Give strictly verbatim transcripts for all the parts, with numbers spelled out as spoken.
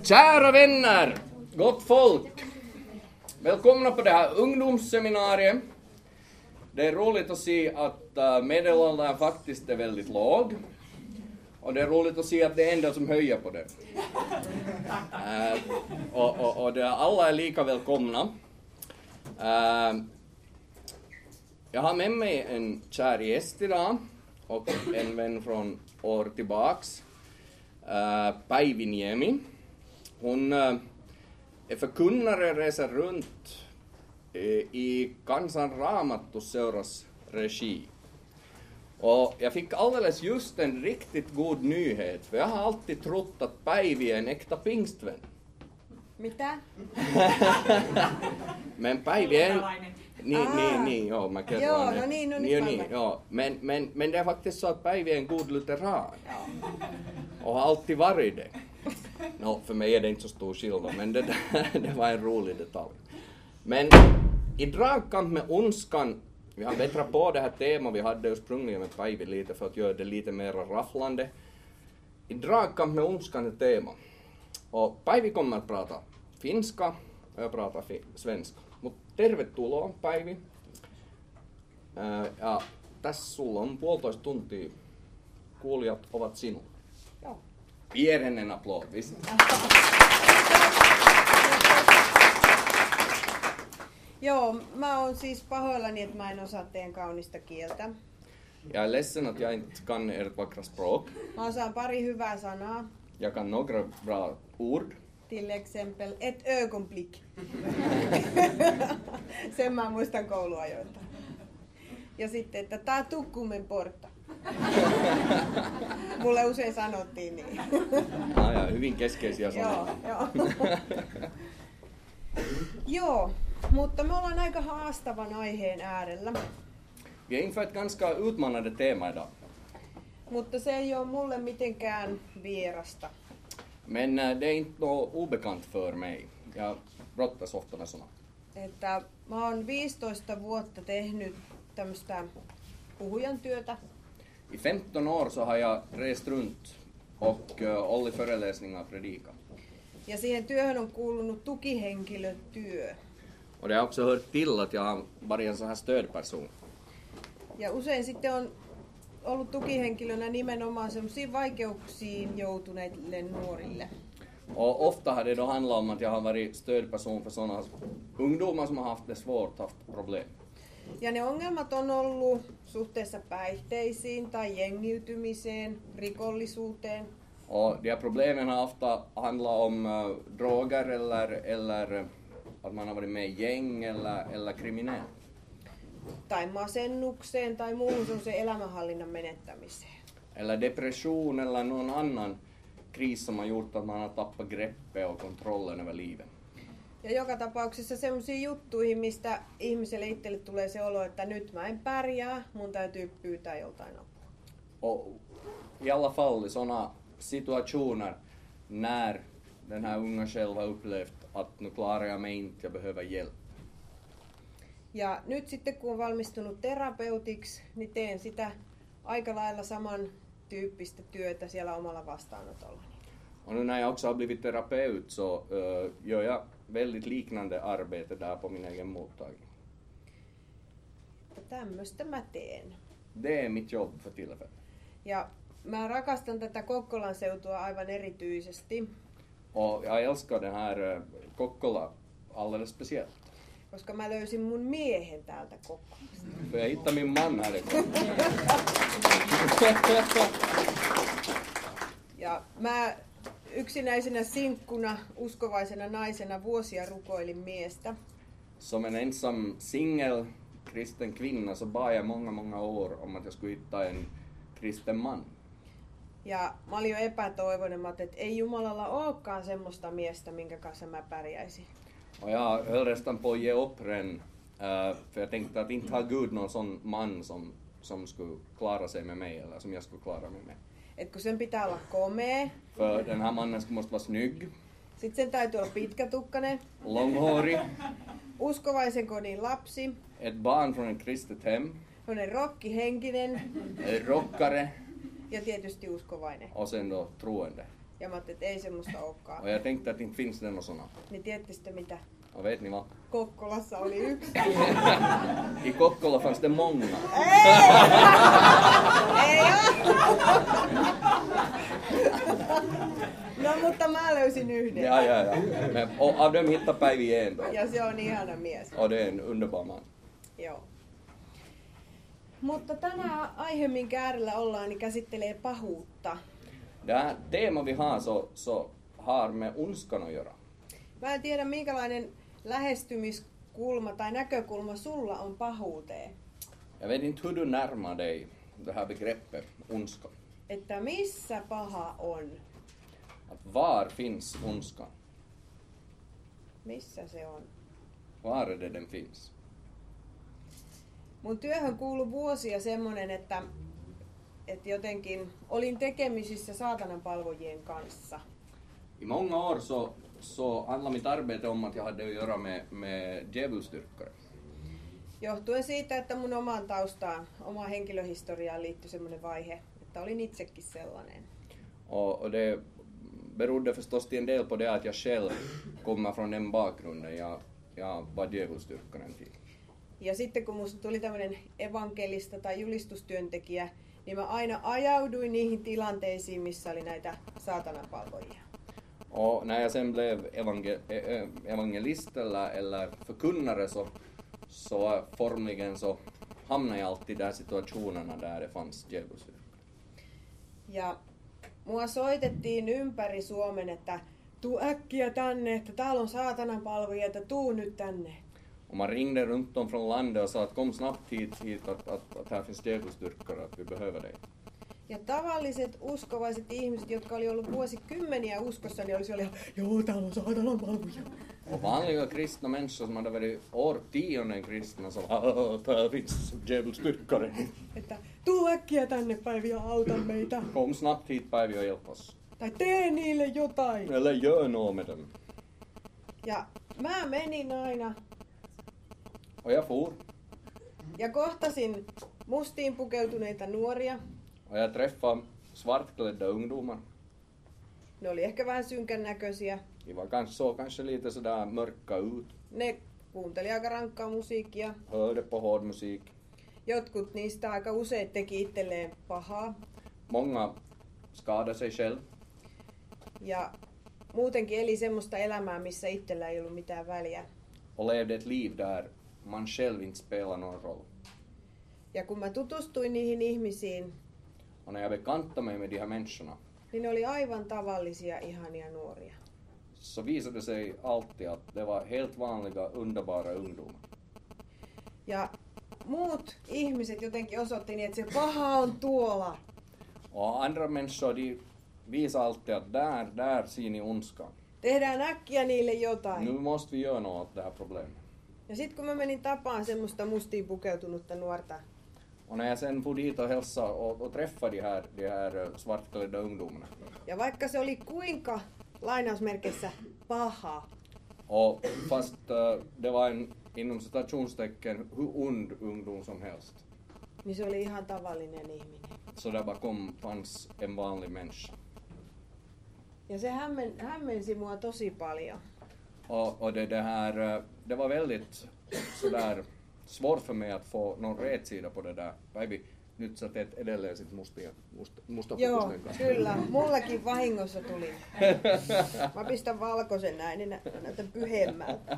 Kära vänner, gott folk. Välkomna på det här ungdomsseminariet. Det är roligt att se att medelåldern faktiskt är väldigt låg. Och det är roligt att se att det är en del som höjer på det. Uh, och och, och det, alla är lika välkomna. Uh, jag har med mig en kär gäst idag och en vän från år tillbaks. Uh, Päivi Niemi. Hon uh, är förkunnare, reser runt uh, i Kansan Raamattuseuras regi. Och jag fick alldeles just en riktigt god nyhet, för jag har alltid trott att Päivi är en äkta pingstvän. Mitä? Men Päivi är... Niin, ah. niin, niin, joo, mä kerron. Joo, no niin, no nyt niin, niin, joo. Men, men, men det är faktiskt så att Päivi är en god lutheran. Ja. Och har alltid varit det. No, för mig är det inte så stor skillnad, men det, det var en rolig detalj. Men i dragkamp med ondskan, vi har bättrat på det här temat, vi hade ursprungligen med Päivi lite för att göra det lite mer rafflande. I dragkamp med ondskan är tema. Och Päivi kommer att prata finska och jag pratar fi- svenska. Mutta tervetuloa Päivi. Ää, ja tässä sulla on puolitoista tuntia. Kuulijat ovat sinun. Joo. Ger henne en applåd, visst? Joo, mä oon siis pahoillani, että mä en osaa teidän kaunista kieltä. Jag är ledsen att jag inte kan ert vackra språk. Mä osaan pari hyvää sanaa. Jag kan några bra ord. Till exempel ett ögonblick. Sen mä muistan kouluajoilta. Ja sitten, että tää tukkumen porta. Mulle usein sanottiin niin. Ah, ja, hyvin keskeisiä Joo, sanoja. joo. Joo, mutta me ollaan aika haastavan aiheen äärellä. Vi är inför ett ganska utmanande tema idag. Mutta se ei ole mulle mitenkään vierasta. Men äh, det är inte något obekant för mig. Jag brottas ofta med såna. Että mä oon viisitoista vuotta tehnyt tämmöistä puhujan työtä. I femton år så har jag rest runt och uh, hållit föreläsningar och predikat. Ja siihen työhön on kuulunut tukihenkilötyö. Och det har också hört till att jag har varit en sån här stödperson. Ja usein sitten on ollut tukihenkilönä nimenomaan semmoisiin vaikeuksiin joutuneille nuorille. Och ofta har det då handlat om att jag har varit stödperson för sådana ungdomar som har haft det svårt, haft problem. Ja ne ongelmat on ollut suhteessa päihteisiin tai jengiytymiseen, rikollisuuteen. Och de här problemen har ofta handlat om uh, droger eller, eller att man har varit med i gäng eller, eller kriminell. Tai masennukseen tai muuhun semmoiseen elämänhallinnan menettämiseen. Eller depression eller någon annan kris som har gjort att man har tappat greppet och kontrollen över livet. Ja joka tapauksessa semmoisiin juttuihin, mistä ihmiselle itselle tulee se olo, että nyt mä en pärjää, mun täytyy pyytää joltain apua. Och i alla fall i sådana situationer när den här unga själv har upplevt att nu klarar jag mig inte, jag behöver hjälp. Ja nyt sitten kun on valmistunut terapeutiksi, niin teen sitä aika lailla samantyyppistä työtä siellä omalla vastaanotollani. Och nu när jag också har blivit terapeut så uh, gör jag väldigt liknande arbete där på min egen mottagning. Tämmöistä mä teen. Det är mitt jobb för tillfället. Ja mä rakastan tätä Kokkolan seutua aivan erityisesti. Och jag älskar den här uh, Kokkola alldeles speciellt. Koska mä löysin mun miehen täältä Kokkolasta. För jag hittade min man härifrån. Ja mä yksinäisenä sinkkuna, uskovaisena naisena vuosia rukoilin miestä. Som en ensam singel kristen kvinna så bad jag många, många år om att jag skulle hitta en kristen man. Ja mä olin jo epätoivoinen, että ei Jumalalla olekaan semmoista miestä, minkä kanssa mä pärjäisin. Och jag höll nästan på att ge upp redan, uh, för jag tänkte att inte har Gud någon sån man som, som skulle klara sig med mig, eller som jag skulle klara mig med. Et kun sen pitää olla komea, För den här mannen måste vara snygg, sit sen täytyy olla pitkätukkainen, långhårig, uskovaisen kodin lapsi, ett barn från ett kristet hem, sellainen rokkihenkinen en rockare ja tietysti uskovainen. och sen då troende. Ja mä ajattelin, että ei semmoista olekaan. Och jag tänkte att det inte finns det något sådana. Niin tiedätte sitten mitä? Och vet ni vad? Kokkolassa oli yksi. I Kokkola fanns det många. Ei! Ei oo! No mutta mä löysin yhden. Ja, ja, ja. Men, och av dem hittar Päivi en då. Ja se on ihana mies. Och det är en underbar man. Joo. Mutta tänään aihe, minkä äärellä ollaan, niin käsittelee pahuutta. Det här tema vi har så, så har med ondskan att göra. Mä en tiedä, minkälainen lähestymiskulma tai näkökulma sulla on pahuuteen. Jag vet inte hur du närmar dig det här begreppet ondska. Että missä paha on? Att var finns ondskan? Missä se on? Var är det den finns? Mun työhön kuului vuosia semmonen, että, että jotenkin olin tekemisissä saatanan palvojien kanssa. I många år så, så handlar mitt arbete om att jag hade att göra med, med djävulsdyrkare. Johtuen siitä, että mun omaan taustaan, omaan henkilöhistoriaan liittyi semmoinen vaihe, että olin itsekin sellainen. Och, och det berodde förstås till en del på det att jag själv kommer från den bakgrunden. Jag, jag var djävulsdyrkare en tid. Ja sitten kun musta tuli tämmöinen evankelista tai julistustyöntekijä, niin mä aina ajauduin niihin tilanteisiin, missä oli näitä saatanapalvojia. Och när jag sen blev evangel- evangelist eller, eller förkunnare så, så formligen så hamnade jag alltid där situationerna där det fanns djävulsdyrkare. Ja mua soitettiin ympäri Suomen, että tuu äkkiä tänne, että täällä on saatananpalvojia, että tuu nyt tänne. Och man ringde runt om från landet och sa att kom snabbt hit, hit att, att, att här finns djävulsdyrkare, att vi behöver dig. Ja tavalliset uskovaiset ihmiset, jotka oli ollut vuosikymmeniä uskossa, niin olisi ollut, joo, täällä on saatananpalvoja. Och vanliga kristna människor som hade varit årtionden kristna sa att här finns djävulsdyrkare. Että tuu äkkiä tänne, Päivi, ja auta meitä. Kom snabbt hit Päivi och hjälp oss. Tai tee niille jotain. Eller gör något med dem. Ja mä menin aina Och jag for. ja kohtasin mustiin pukeutuneita nuoria. Och jag träffade svartklädda ungdomar. Ne oli ehkä vähän synkän näköisiä. De var kanske så, kanske lite sådär mörka ut. Ne kuunteli aika rankkaa musiikkia. Hörde på hård musik. Jotkut niistä aika usein teki itselleen pahaa. Många skadade sig själv. Ja muutenkin eli semmoista elämää, missä itsellä ei ollut mitään väliä. Och levde ett liv där man själv inte spelar någon roll. Ja kun mä tutustuin niihin ihmisiin, Och när jag bekantade mig med de här människorna niin ne oli aivan tavallisia, ihania nuoria. så visade det sig alltid att det var helt vanliga, underbara ungdomar. Ja muut ihmiset jotenkin osoitti niin, että se paha on tuolla. Och andra människor de visade alltid att där, där ser ni ondskan. Tehdään äkkiä niille jotain. Nu måste vi göra något åt det här problemet. Ja sitten kun mä menin tapaan semmoista mustiin pukeutunutta nuorta, Och när jag sen for dit och hälsade och, och träffade de här, de här svartklädda ungdomarna. ja vaikka se oli kuinka lainausmerkeissä paha, Och fast uh, det var en inom citationstecken hur ond ungdom som helst. niin se oli ihan tavallinen ihminen. Så där bakom fanns en vanlig människa. Ja se hämmen, hämmensi mua tosi paljon. Och, och det, det här, uh, det var väldigt sådär svårt för mig att få någon rätsida på det där. Päivi, nyt sä teet edelleen sit mustia, musta, musta Joo, pukusten kanssa. kyllä. Mullakin vahingossa tuli. Mä pistän valkoisen näin, niin nä- näytän pyhemmältä.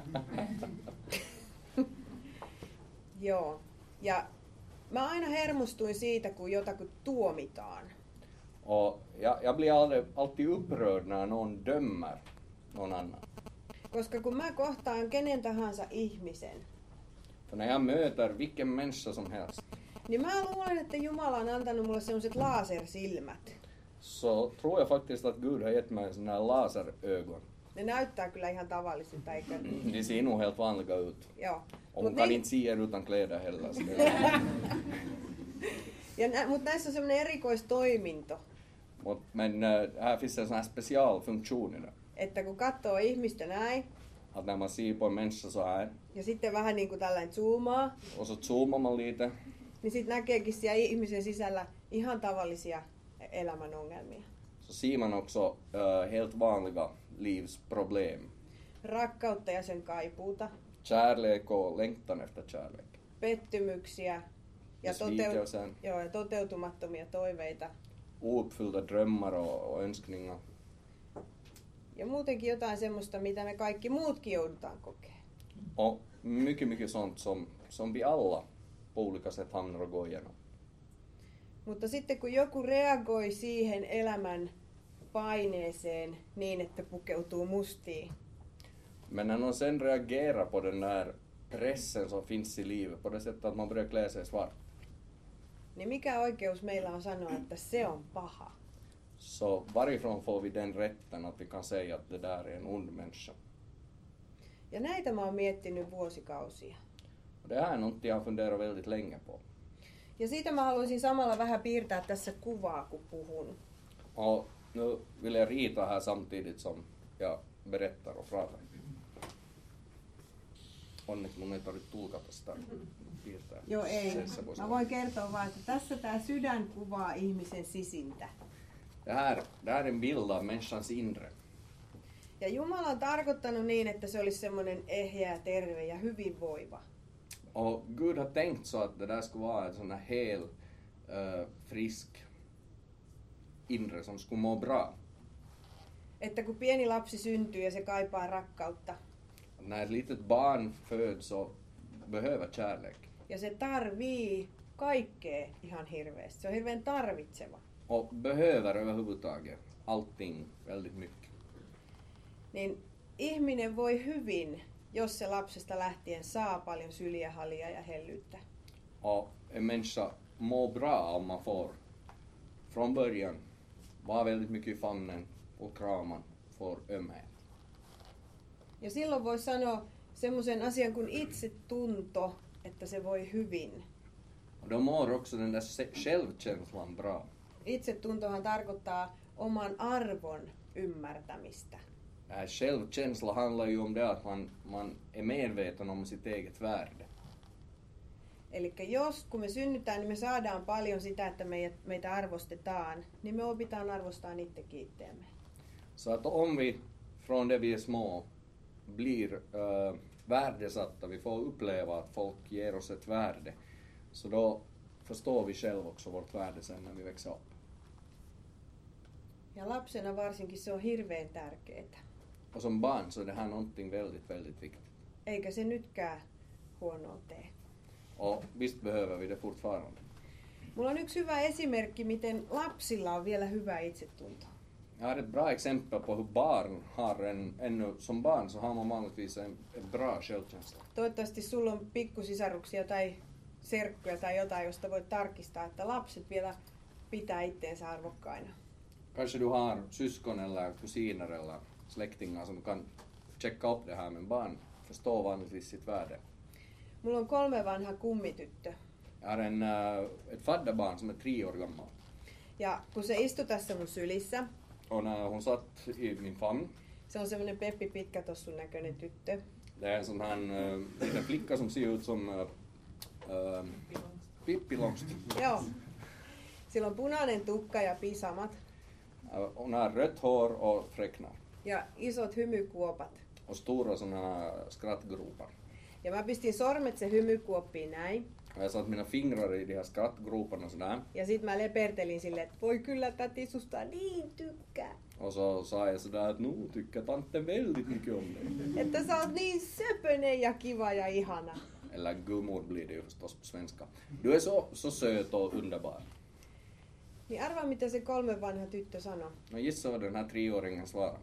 Joo. Ja mä aina hermostuin siitä, kun jotakin tuomitaan. Och jag, jag blir alltid, alltid upprörd när någon dömer någon annan. Koska kun mä kohtaan kenen tahansa ihmisen, För när jag möter vilken människa som helst niin mä luulen, että Jumala on antanut mulle sellaiset lasersilmät. så tror jag faktiskt att Gud har gett mig såna här laserögon. Ne näyttää kyllä ihan tavallisilta, eikö? De ser nog helt vanliga ut. Joo. Och Mut hon kan niin- inte se er utan kläder heller. Så det- Ja nä, mutta näissä on semmoinen erikoistoiminto, Mut, men äh, här finns en sån här specialfunktion i det. että kun katsoo ihmistä näin, Att när man ser på en människa så här ja sitten vähän niin kuin tällainen zoomaa, och så zoomar man lite niin sitten näkeekin siellä ihmisen sisällä ihan tavallisia elämän ongelmia. så ser man också uh, helt vanliga livsproblem. Rakkautta ja sen kaipuuta. Kärlek och längtan efter kärlek. Pettymyksiä ja, toteut- joo, ja toteutumattomia toiveita. Ouppfyllda drömmar och, och önskningar. Ja muutenkin jotain semmoista, mitä me kaikki muutkin joudutaan kokea. Och mycket, mycket sånt som, som vi alla på olika sätt hamnar och går igenom. Mutta sitten kun joku reagoi siihen elämän paineeseen niin, että pukeutuu mustiin. Men när någon sen reagerar på den där pressen som finns i livet på det sättet att man börjar klä sig svart. Niin mikä oikeus meillä on sanoa, että se on paha? Så varifrån får vi den rätten att vi kan säga att det där är en ond människa? Ja näitä mä oon miettinyt vuosikausia. Och det här är något jag har funderat väldigt länge på. Ja siitä mä haluaisin samalla vähän piirtää tässä kuvaa, kun puhun. Och nu vill jag rita här samtidigt som jag berättar och pratar. Onneksi mun ei tarvitse tulkata sitä piirtää. Joo, ei. Se, se Mä voin kertoa vaan, että tässä tää sydän kuvaa ihmisen sisintä. Det här, det här är en bild av människans inre. Ja Jumala on tarkoittanut niin, että se olisi semmoinen ehjä, terve ja hyvinvoiva. Och Gud har tänkt så att det där ska vara en sån här hel, uh, frisk inre som skulle må bra. Että kun pieni lapsi syntyy ja se kaipaa rakkautta. När ett litet barn föds och behöver kärlek. Ja se tarvii kaikkea ihan hirveästi. Se on hirveän tarvitseva. Och behöver överhuvudtaget allting väldigt mycket. Niin ihminen voi hyvin, jos se lapsesta lähtien saa paljon syliä, halia ja hellyyttä. Och en människa mår bra om man får från början vara väldigt mycket i famnen och kraman, får ömhet. Ja silloin voi sanoa semmoisen asian kuin itsetunto, että se voi hyvin. Och då mår också den där självkänslan bra. Itsetuntohan tarkoittaa oman arvon ymmärtämistä. Äh, självkänsla handlar ju om det att man, man är medveten om sitt eget värde. Eli jos kun me synnytään, niin me saadaan paljon sitä, että meitä, meitä arvostetaan, niin me opitaan arvostamaan itsekin itseämme. Så att om vi från det vi är små blir äh, värdesatta, vi får uppleva att folk ger oss ett värde, så då förstår vi själv också vårt värde sen när vi växer upp. Ja lapsena varsinkin se on hirveän tärkeää. Och som barn så är det här någonting väldigt, väldigt viktigt. Eikä se nytkään huonoa tee. Och visst behöver vi det fortfarande. Mulla on yksi hyvä esimerkki, miten lapsilla on vielä hyvä itsetunto. Jag har ett bra exempel på hur barn har en, ännu som barn så har man vanligtvis en, en bra självkänsla. Toivottavasti sulla on pikkusisaruksia tai serkkuja tai jotain, josta voit tarkistaa, että lapset vielä pitää itteensä arvokkaina. Kanske du har syskon eller kusiner eller släktingar som kan checka upp det här, men barn förstår vanligtvis sitt värde. Mulla on kolme vanha kummityttö. Jag har en, äh, ett fadderbarn som är tre år gammal. Ja kun se istui tässä mun sylissä, Och när hon satt i min famn, se on semmoinen Peppi Pitkätossun näköinen tyttö. det är en sån här äh, liten flicka som ser ut som äh, äh, Pippi Långstrump. Joo. Sillä on punainen tukka ja pisamat Äh, hon har rött hår och fräknar. ja isot hymykuopat. Och stora såna här skrattgropar. Ja mä pistin sormet se hymykuoppiin näin. Och jag satt mina fingrar i de här skrattgroparna sådär. Ja sit mä lepertelin silleen, että voi kyllä täti susta niin tykkää. Och så sa jag sådär att nu tycker tanten väldigt mycket om dig. Että sä oot niin söpönen ja kiva ja ihana. Eller gummor blir det ju förstås på svenska. Du är så, så söt och underbar. Niin arvaa mitä se kolme vanha tyttö sanoi. No gissa vad den här treåringen svarar.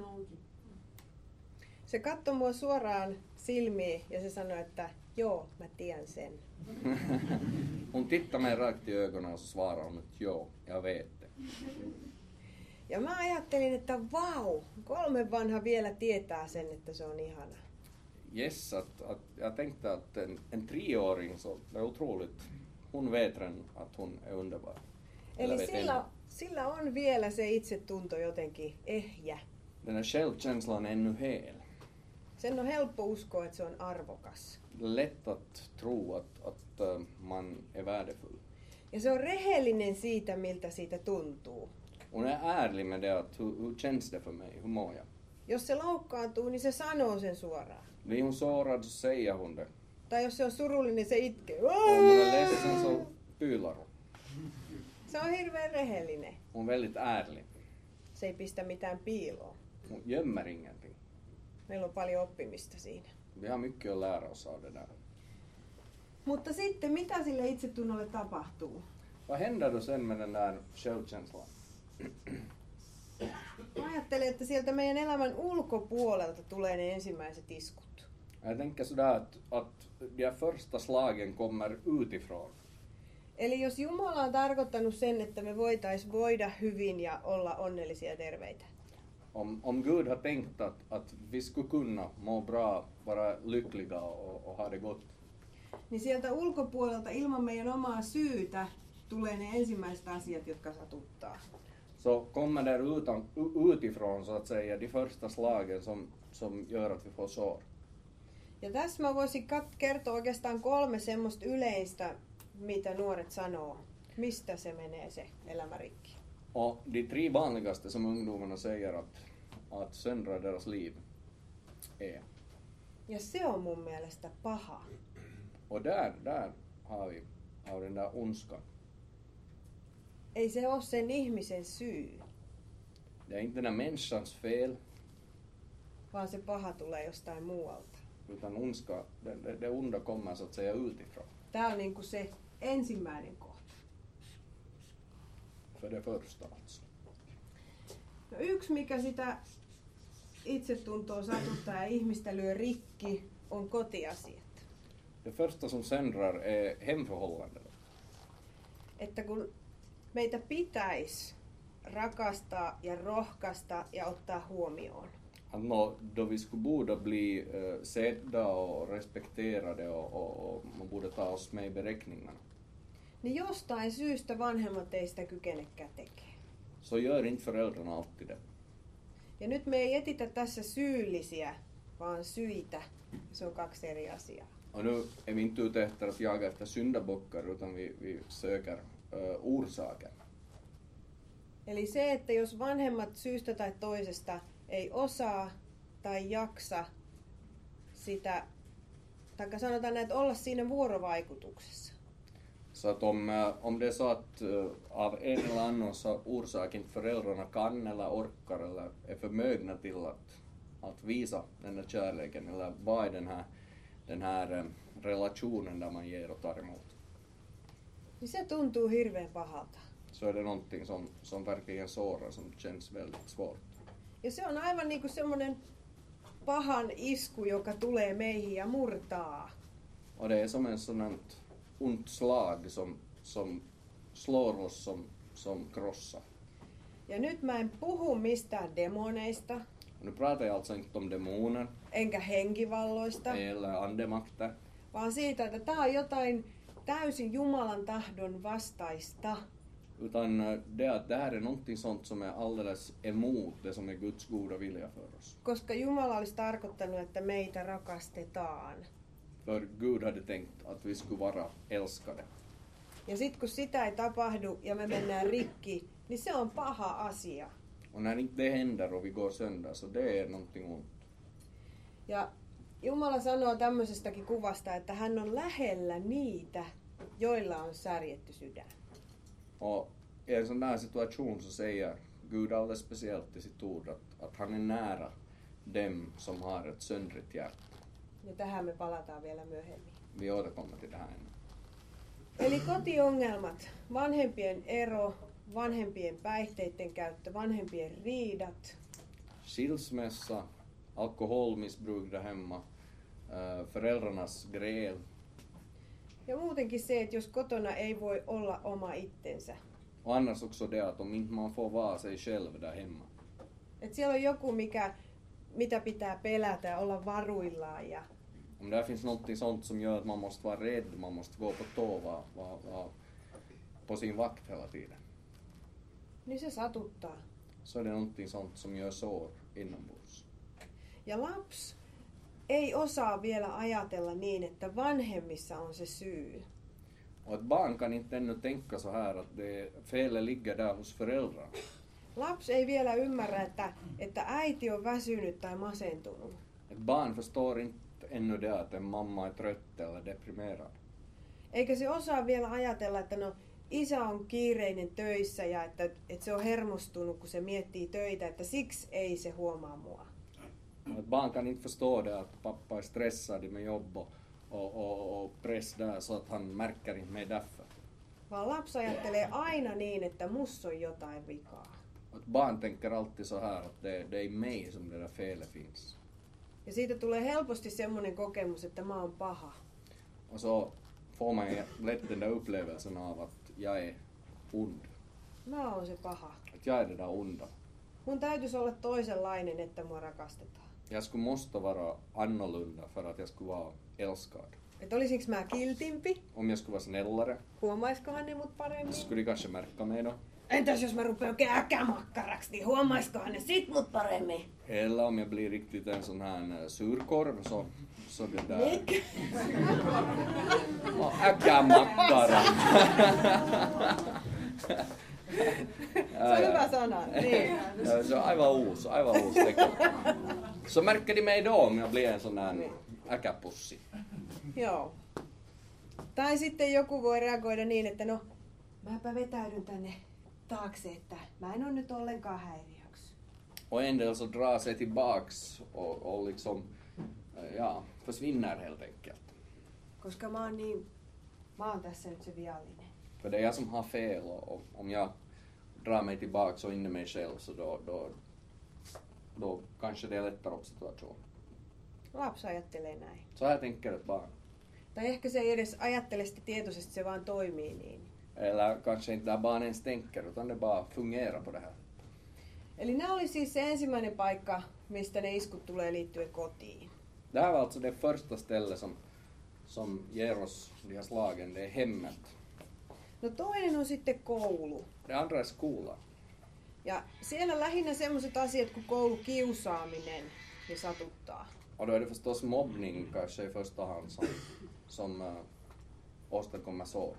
Se katsoi mua suoraan silmiin ja se sanoi, että joo, mä tiedän sen. Hon tittar mig rakt i ögonen och så svarar hon att jo, jag vet det. Ja mä ajattelin, että vau, kolme vanha vielä tietää sen, että se on ihana. Yes, att, att jag tänkte att en, en treåring så det är otroligt. Hon vet redan att hon är underbar. Eller Eli vet sillä, ännu. sillä on vielä se itsetunto jotenkin ehjä. Den här självkänslan är ännu hel. Sen on helppo uskoa, että se on arvokas. Lätt att tro att, att uh, man är värdefull. Ja se on rehellinen siitä, miltä siitä tuntuu. Hon är ärlig med det, att hur, hur känns det för mig, hur mår jag? Jos se loukkaantuu, niin se sanoo sen suoraan. Blir hon sårad så säger hon det. Tai jos se on surullinen, niin se itkee. Om hon är ledsen så pyylar hon. Se on hirveän rehellinen. Hon är väldigt ärlig. Se ei pistä mitään piiloon. Hon gömmer ingenting. Meillä on paljon oppimista siinä. Vi har mycket att lära oss av det där. Mutta sitten mitä sille itsetunnolle tapahtuu? Vad händer då sen med den där självkänslan? Mä ajattelen, että sieltä meidän elämän ulkopuolelta tulee ne ensimmäiset iskut. Jag tänker sådär att, att de här första slagen kommer utifrån. Eli jos Jumala on tarkoittanut sen, että me voitais voida hyvin ja olla onnellisia ja terveitä, Om, om Gud har tänkt att, att vi skulle kunna må bra, vara lyckliga och, och ha det gott, niin sieltä ulkopuolelta ilman meidän omaa syytä tulee ne ensimmäiset asiat, jotka satuttaa. så kommer där utan, u- utifrån så att säga de första slagen som, som gör att vi får sår. Ja tässä mä voisin kat- kertoa oikeastaan kolme semmoista yleistä, mitä nuoret sanoo. Mistä se menee se elämärikki? Och de tre vanligaste som ungdomarna säger att, att söndrar deras liv är. Ja se on mun mielestä paha. Och där, där har vi, har vi den där ondskan. Ei se ole sen ihmisen syy, Det är inte den här människans fel, vaan se paha tulee jostain muualta. utan ondska, det, det, det onda kommer så att säga utifrån. Tää on niinku se ensimmäinen kohta. För det första alltså. No yksi, mikä sitä itsetuntoa satuttaa ja ihmistä lyö rikki, on kotiasiat. Det första som söndrar är hemförhållandena. Että kun meitä pitäisi rakastaa ja rohkaista ja ottaa huomioon, Att nå, då vi skulle borde bli uh, sedda och respekterade och, och, och man borde ta oss med i beräkningarna, niin jostain syystä vanhemmat ei sitä kykenekään tekemään. så gör inte föräldrarna alltid det. Ja nyt me ei etitä tässä syyllisiä, vaan syitä. Se on kaksi eri asiaa. Och nu är vi inte ute efter att jaga efter syndabockar utan vi, vi söker uh, orsaker. Eli se, että jos vanhemmat syystä tai toisesta ei osaa tai jaksa sitä, tai sanotaan näin, että olla siinä vuorovaikutuksessa, Så att om, eh, om det är så att uh, av en eller annan så orsak inte föräldrarna kan eller orkar eller är förmögna till att, att visa den där kärleken eller vad är den här, den här eh, relationen där man ger och tar emot, niin se tuntuu hirveän pahalta. så är det någonting som, som verkligen sårar, som känns väldigt svårt. Ja se on aivan niin kuin semmoinen pahan isku, joka tulee meihin ja murtaa. Och det är som en sån här ont slag som, som slår oss, som, som krossar. Ja nyt mä en puhu mistään demoneista, Och nu pratar jag alltså inte om demoner enkä henkivalloista, eller andemakter, vaan siitä, että tää on jotain täysin Jumalan tahdon vastaista. utan eh, det att det här är någonting sånt som är alldeles emot det som är Guds goda vilja för oss. Koska Jumala olisi tarkoittanut, että meitä rakastetaan. För Gud hade tänkt att vi skulle vara älskade. Ja sitten kun sitä ei tapahdu ja me mennään rikki, niin se on paha asia. Och när inte det händer och vi går sönder, så det är någonting ont. Ja Jumala sanoo tämmöisestäkin kuvasta, että hän on lähellä niitä, joilla on särjetty sydän. Och i en sån där situation så säger Gud alldeles speciellt i sitt ord att, att han är nära dem som har ett söndrigt hjärta. Ja tähän me palataan vielä myöhemmin. Vi återkommer till det här ännu. Eli kotiongelmat, vanhempien ero, vanhempien päihteiden käyttö, vanhempien riidat, Skilsmässa, alkoholmissbruk där hemma, äh, föräldrarnas gräl, ja muutenkin se, että jos kotona ei voi olla oma itsensä. och annars också det att om inte man får vara sig själv där hemma. Että siellä on joku, mikä, mitä pitää pelätä ja olla varuillaan. Ja, Om där finns något sånt som gör att man måste vara rädd, man måste gå på tå, vara, vara, vara på sin vakt hela tiden, niin se satuttaa. så är det någonting sånt som gör sår inombords. Ja lapsi ei osaa vielä ajatella niin, että vanhemmissa on se syy. Och ett barn kan inte ännu tänka så här att det felet ligger där hos föräldrarna. Lapsi ei vielä ymmärrä, että, että äiti on väsynyt tai masentunut. Ett barn förstår inte ännu det att en mamma är trött eller deprimerad. Eikä se osaa vielä ajatella, että no isä on kiireinen töissä ja että, että se on hermostunut, kun se miettii töitä, että siksi ei se huomaa mua. Ett barn kan inte förstå det att pappa är stressad med jobb och, och, och, och press där så att han märker inte mig därför. Vaan lapsi ajattelee aina niin, että mussa on jotain vikaa. Ett barn tänker alltid så här att det, det är i mig som det där felet finns. Ja siitä tulee helposti semmoinen kokemus, että mä oon paha. Och så får man lätt den där upplevelsen av att jag är ond. Mä oon se paha. Att jag är det där onda. Mun täytyisi olla toisenlainen, että mua rakastetaan. Jag skulle måste vara annorlunda för att jag skulle vara älskad. Että olisinko mä kiltimpi? Om jag skulle vara snällare Huomaiskohan ne mut paremmin? så skulle de kanske märka mig då. Entäs jos mä rupean oikein äkämakkaraksi, niin huomaiskohan ne sit mut paremmin? Eller om jag blir riktigt en sån här surkorv så, så det där... Mik? No, äkämakkara. Se on hyvä sana. Niin. Se on aivan uusi, aivan uusi teko. Så märker de mig då om jag blir en sån här äkäpussi. Joo. Tai sitten joku voi reagoida niin, että no, mäpä vetäydyn tänne taakse, että mä en ole nyt ollenkaan häiriöksi. Och en del så drar sig tillbaks och, och liksom, ja, försvinner helt enkelt. Koska mä oon niin, mä oon tässä nyt se viallinen. För det är jag som har fel och, och om jag drar mig tillbaks och in i mig själv så då, då, då kanske det lättar upp situationen. Lapsi ajattelee näin. Så här tänker ett barn. Tai ehkä se ei edes ajattele sitä tietoisesti, se vaan toimii niin. Eller kanske inte där barn ens tänker utan det bara fungerar på det här. Eli nämä oli siis se ensimmäinen paikka, mistä ne iskut tulee liittyen kotiin. Det här var alltså det första stället som, som ger oss de här slagen, det är hemmet. No toinen on sitten koulu. Det andra är skolan. Ja siellä lähinnä semmoiset asiat kuin koulukiusaaminen ja satuttaa. Och då är det förstås mobbning kanske i första hand som, som äh, åstadkommer sår.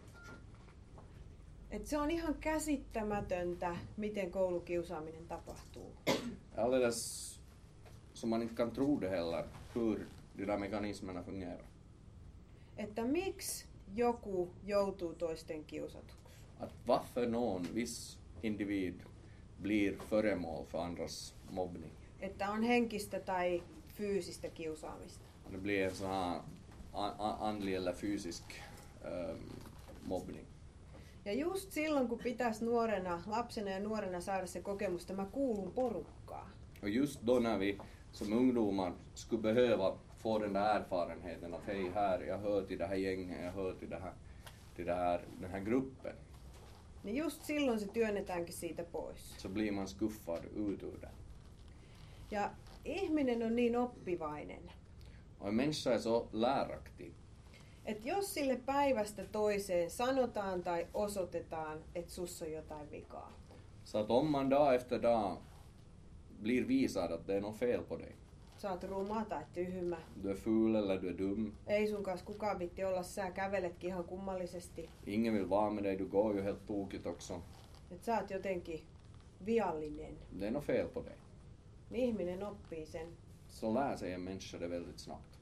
Et se on ihan käsittämätöntä, miten koulukiusaaminen tapahtuu. Alldeles som man inte kan tro det heller hur de där mekanismerna fungerar. Että miksi joku joutuu toisten kiusatuksi? Att varför någon viss individ blir föremål för andras mobbning. Että on henkistä tai fyysistä kiusaamista. Det blir en sån här andlig eller fysisk ähm, mobbning. Ja just silloin, kun pitäisi nuorena, lapsena ja nuorena saada se kokemus, että mä kuulun porukkaan. Och just då när vi som ungdomar skulle behöva få den där erfarenheten att hej, här, jag hör till det här gänget, jag hör till, det här, till det här, den här gruppen. Niin just silloin se työnnetäänkin siitä pois. Så blir man skuffad ut ur det. Ja ihminen on niin oppivainen, Och en människa är så läraktig. että jos sille päivästä toiseen sanotaan tai osoitetaan, että sussa on jotain vikaa, Så att om man dag efter dag blir visad att det är något fel på dig. sä oot ruma tai tyhmä, Du är ful eller du är dum. ei sun kanssa kukaan vitti olla, sä käveletkin ihan kummallisesti, Ingen vill vara med dig, du går ju helt tokigt också. että sä oot jotenkin viallinen, Det är något fel på dig. niin ihminen oppii sen. Så lär sig en människa det väldigt snabbt.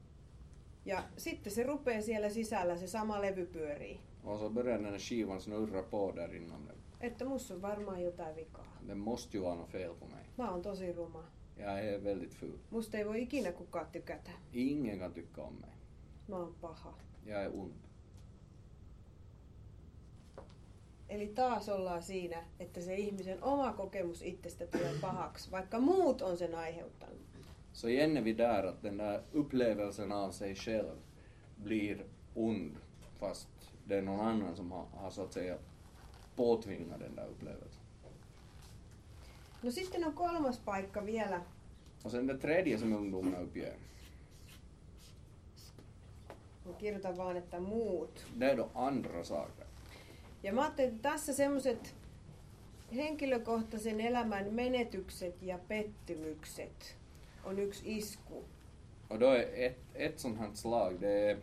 Ja sitten se rupeaa siellä sisällä, se sama levy pyörii. Och så börjar den här skivan snurra på där inom den. Että musta on varmaan jotain vikaa. Det måste ju vara något fel på mig. Mä oon tosi ruma. Jag är väldigt ful. Musta ei voi ikinä kukaan tykätä. Ingen kan tycka om mig. Mä oon paha. Jag är ond. Eli taas ollaan siinä, että se ihmisen oma kokemus itsestä tulee pahaksi, vaikka muut on sen aiheuttanut. Så igen är vi där att den där upplevelsen av sig själv blir ond fast det är någon annan som har, har så att säga påtvingat den där upplevelsen. No sitten on kolmas paikka vielä. Och sen det tredje som ungdomarna uppger. Mä kirjoitan vaan, että muut. Det är då andra saker. Ja mä ajattelin, että tässä semmoiset henkilökohtaisen elämän menetykset ja pettymykset on yksi isku. Och då är ett, ett sånt här slag, det är,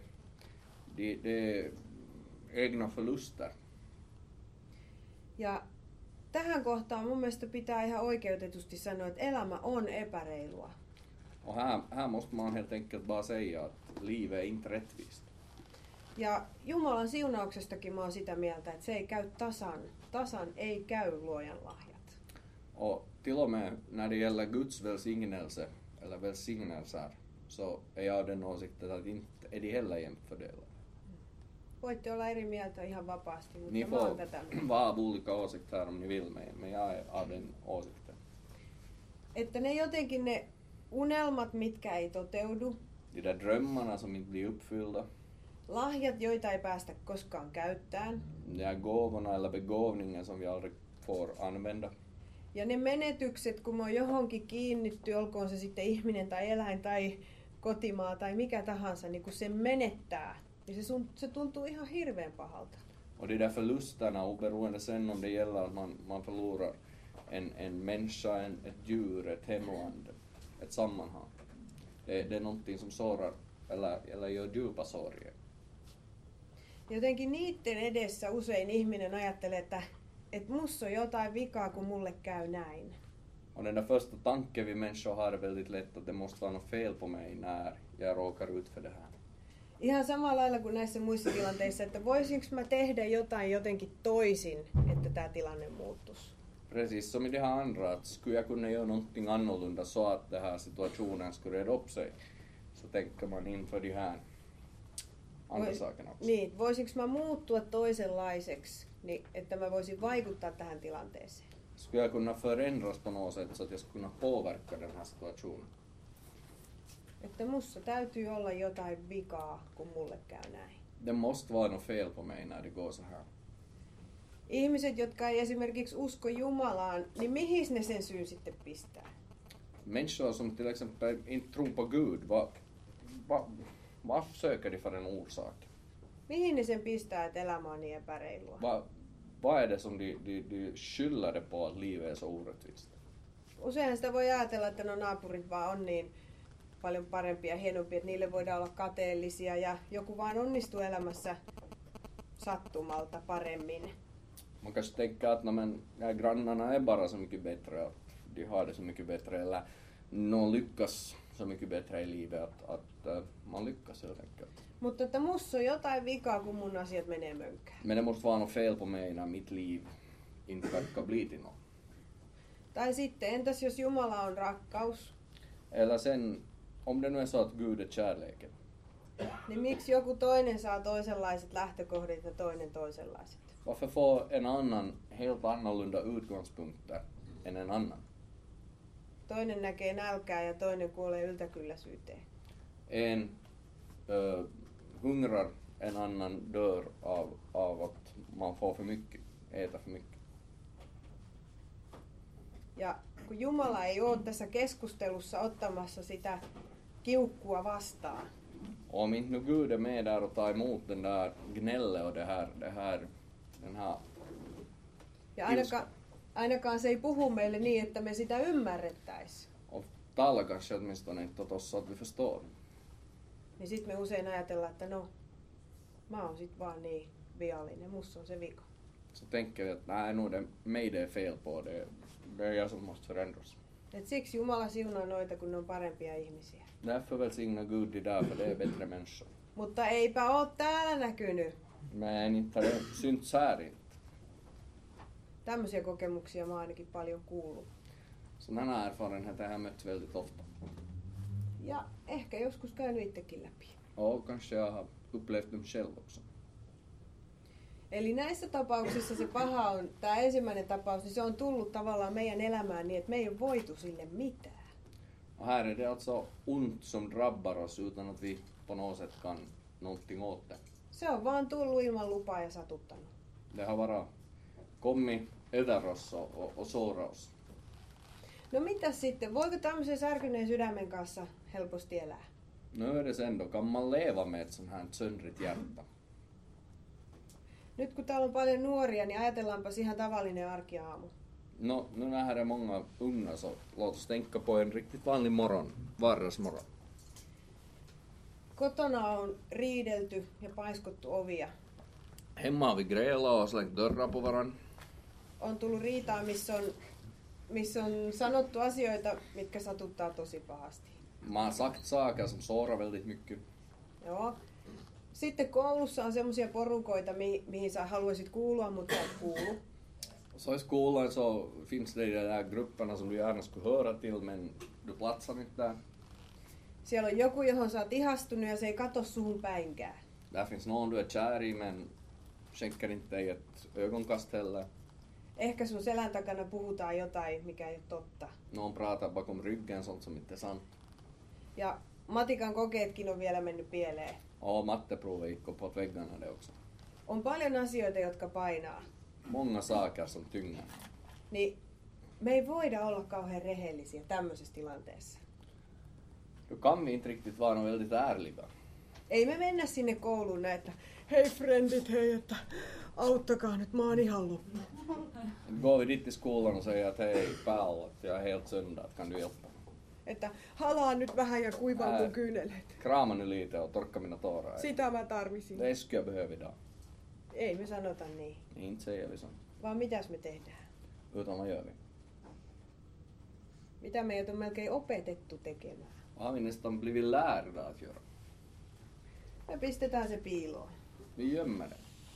det, det är egna förluster. Ja tähän kohtaan mun mielestä pitää ihan oikeutetusti sanoa, että elämä on epäreilua. Och här, här måste man helt enkelt bara säga att livet är inte rättvist. Ja Jumalan siunauksestakin mä oon sitä mieltä, että se ei käy tasan. Tasan ei käy luojan lahjat. Och till och med när det gäller Guds välsignelse eller välsignelser så är jag den åsikten att inte är de heller jämnt fördelade. Voitte olla eri mieltä ihan vapaasti, mutta Ni mä oon får tätä. vara av olika åsikter om ni vill, men men jag är av den åsikten. Että ne jotenkin ne unelmat, mitkä ei toteudu, De där drömmarna som inte blir uppfyllda, lahjat, joita ei päästä koskaan käyttämään, de här gåvorna eller begåvningen som vi aldrig får använda. ja ne menetykset, kun mä oon johonkin kiinnitty, olkoon se sitten ihminen tai eläin tai kotimaa tai mikä tahansa, niin kun se menettää, niin se, sun, se tuntuu ihan hirveän pahalta. Och de där förlusterna, oberoende sen om det gäller att man, man förlorar en, en människa, en, ett djur, ett hemland, ett sammanhang. Det, det är någonting som sårar eller, eller gör djupa sorger. Jotenkin niiden edessä usein ihminen ajattelee, että, että musta on jotain vikaa, kun mulle käy näin. Och den där första tanken vi människor har är väldigt lätt att det måste vara något fel på mig när jag råkar ut för det här. Ihan samalla lailla kuin näissä muissa tilanteissa, että voisinko mä tehdä jotain jotenkin toisin, että tämä tilanne muuttuisi. Precis som i det här andra, att skulle jag kunna göra någonting annorlunda så att den här situationen skulle reda upp sig, så tänker man inför de här andra Vois- sakerna också. Niin, voisinko mä muuttua toisenlaiseksi, niin, että mä voisin vaikuttaa tähän tilanteeseen. Skulle jag kunna förändras på något sätt så att jag skulle kunna påverka den här situationen? Että musta täytyy olla jotain vikaa, kun mulle käy näin. Det måste vara något fel på mig när det går så här. Ihmiset, jotka ei esimerkiksi usko Jumalaan, niin mihin ne sen syyn sitten pistää? Människor som till exempel inte tror på Gud, vad, vad, vad söker de för en orsak? Mihin ne sen pistää, että elämä on niin epäreilua? Vad, vad är det som de, de, de skyller det på att livet är så orättvist? Useinhan sitä voi ajatella, että no naapurit vaan on niin paljon parempia ja hienompia, että niille voidaan olla kateellisia ja joku vaan onnistuu elämässä sattumalta paremmin. Man kanske tänker att no, men, ja, grannarna är bara så mycket bättre, att de har det så mycket bättre, eller någon lyckas så mycket bättre i livet, att, att uh, man lyckas helt enkelt. Mutta että musta on jotain vikaa, kun mun asiat menee mönkään. Men det måste vara något fel på mig när mitt liv inte verkar bli till något. Tai sitten, entäs jos Jumala on rakkaus, Eller sen, om det nu är så att Gud är kärleken, niin miksi joku toinen saa toisenlaiset lähtökohdat ja toinen toisenlaiset? varför får en annan helt annorlunda utgångspunkter än en annan? Toinen näkee nälkää ja toinen kuolee yltäkylläisyyteen. En uh, hungrar, en annan dör av, av att man får för mycket, äta för mycket. Ja kun Jumala ei ole tässä keskustelussa ottamassa sitä kiukkua vastaan, Om inte nu Gud är med där och tar emot den där gnället och det här, det här, den här, ja ainakaan, ainakaan se ei puhu meille niin, että me sitä ymmärrettäisiin, och talar kanske åtminstone inte åt oss så att vi förstår. niin sitten me usein ajatellaan, että no, mä oon sit vaan niin viallinen, musta on se vika. Så tänker vi att nej, nu är det mig det är fel på, det, det är jag som måste förändras. Et siksi Jumala siunaa noita, kun ne on parempia ihmisiä. Därför välsignar Gud de där, för det är bättre människor. Mutta eipä oo täällä näkynyt. Men inte har det synts här inte. Tämmöisiä kokemuksia mä oon ainakin paljon kuullut. Sådana erfarenheter har jag mött väldigt ofta. Ja ehkä joskus käynyt itsekin läpi. Och kanske jag har upplevt dem själv också. Eli näissä tapauksissa se paha on, tämä ensimmäinen tapaus, niin se on tullut tavallaan meidän elämään niin, että me ei ole voitu sille mitään. Och här är det alltså ont som drabbar oss utan att vi på något sätt kan någonting åt det. Se on vaan tullut ilman lupaa ja satuttanut. Det har bara kommit över oss och, och, och sårat oss. No mitäs sitten, voiko tämmöisen särkyneen sydämen kanssa helposti elää? Nu är det sen då, kan man leva med ett sånt här söndrigt hjärta? Nyt kun täällä on paljon nuoria, niin ajatellaanpas ihan tavallinen arkiaamu. No, nu när här är många unga så låt oss tänka på en riktigt vanlig morgon, vardagsmorgon. Kotona on riidelty ja paiskottu ovia. Hemma har vi grälat och slängt dörrar på varann. on tullut riitaa, missä on, missä on sanottu asioita, mitkä satuttaa tosi pahasti. Man har sagt saker som sårar väldigt mycket. Joo. Sitten koulussa on semmoisia porukoita, mi- mihin sä haluaisit kuulua, mutta et kuulu. Så i skolan så finns det de där grupperna som du gärna skulle höra till men du platsar inte där. Siellä on joku, johon sä oot ihastunut ja se ei kato suhun päinkään. Där finns någon du är kär i men skänker inte dig ett ögonkast heller. Ehkä sun selän takana puhutaan jotain, mikä ei ole totta. Någon pratar bakom ryggen sånt som inte är sant. Ja matikan kokeetkin on vielä mennyt pieleen. Ja, matteprovet gick uppåt väggarna det också. On paljon asioita, jotka painaa. Många saker som tynger. Niin me ei voida olla kauhean rehellisiä tämmöisessä tilanteessa. Då kan vi inte riktigt vara väldigt ärliga. Ei me mennä sinne kouluun näin, että hei frendit, hei, että auttakaa nyt, mä oon ihan loppu. Går vi dit till skolan och säger att hej pal, att jag är helt sönder, att kan du hjälpa mig? Että halaan nyt vähän ja kuivaa Ää. mun kyyneleet. Krama nu lite och torka mina tårar. Sitä mä tarvisin. Det skulle jag behöva idag. Ei me sanota niin. Inte säger vi så. Vaan mitäs me tehdään? Utan vad gör vi? Mitä meidät on melkein opetettu tekemään? Vad har vi nästan blivit lärda att göra? Me pistetään se piiloon. Vi gömmer det.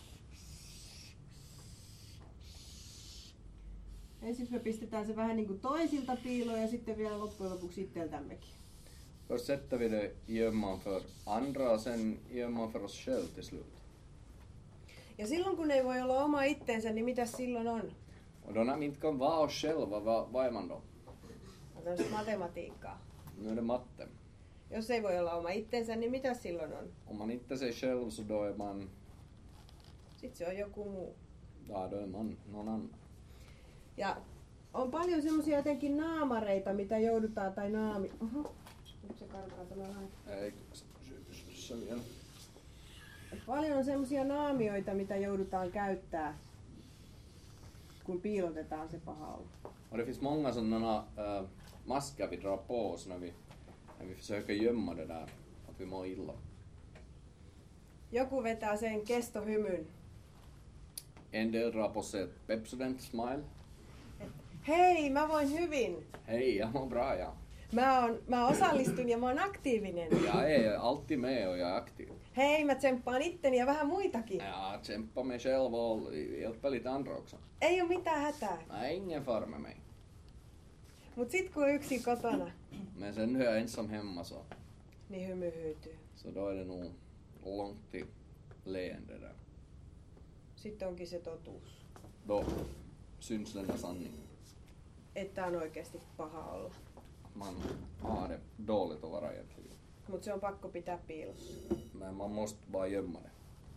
Ensin me pistetään se vähän niin kuin toisilta piiloon ja sitten vielä loppujen lopuksi itseltämmekin. Först sätter vi det i gömman för andra och sen i gömman för oss själv till slut. Ja silloin kun ei voi olla oma itteensä, niin mitä silloin on? Och då när vi inte kan vara oss själva, vad, vad är man då? On tämmöistä matematiikkaa. Nu är det matte. Jos ei voi olla oma itsensä, niin mitä silloin on? Om man inte är sig själv så då är man, Sitten se on joku muu. ja då är man någon annan. Ja on paljon semmoisia jotenkin naamareita, mitä joudutaan, tai naami... Oho, nyt se karkaa tämä vähän. Ei, se vielä. Paljon on semmoisia naamioita, mitä joudutaan käyttää, kun piilotetaan se paha olo. Och det finns många sådana äh, masker vi drar på oss när vi, när vi försöker gömma det där, att vi mår illa. Joku vetää sen kestohymyn. En del drar på sig ett Pepsodent smile. Hei, mä voin hyvin. Hej, jag mår bra ja. Mä, on, mä osallistun ja mä oon aktiivinen. Jag är alltid med och jag är aktiv. Hei, mä tsemppaan itteni ja vähän muitakin. Jag kämpar mig själv och hjälper lite andra också. Ei oo mitään hätää. Nej, ingen fara med mig. Mut sit kun on yksin kotona, Men sen när jag är ensam hemma så, niin hymy hyytyy. så då är det nog långt till leende där. Sitten onkin se totuus, Då syns den där sanningen. että on oikeasti paha olla. Man har det dåligt att vara egentligen. Mut se on pakko pitää piilossa. Men man måste bara gömma det.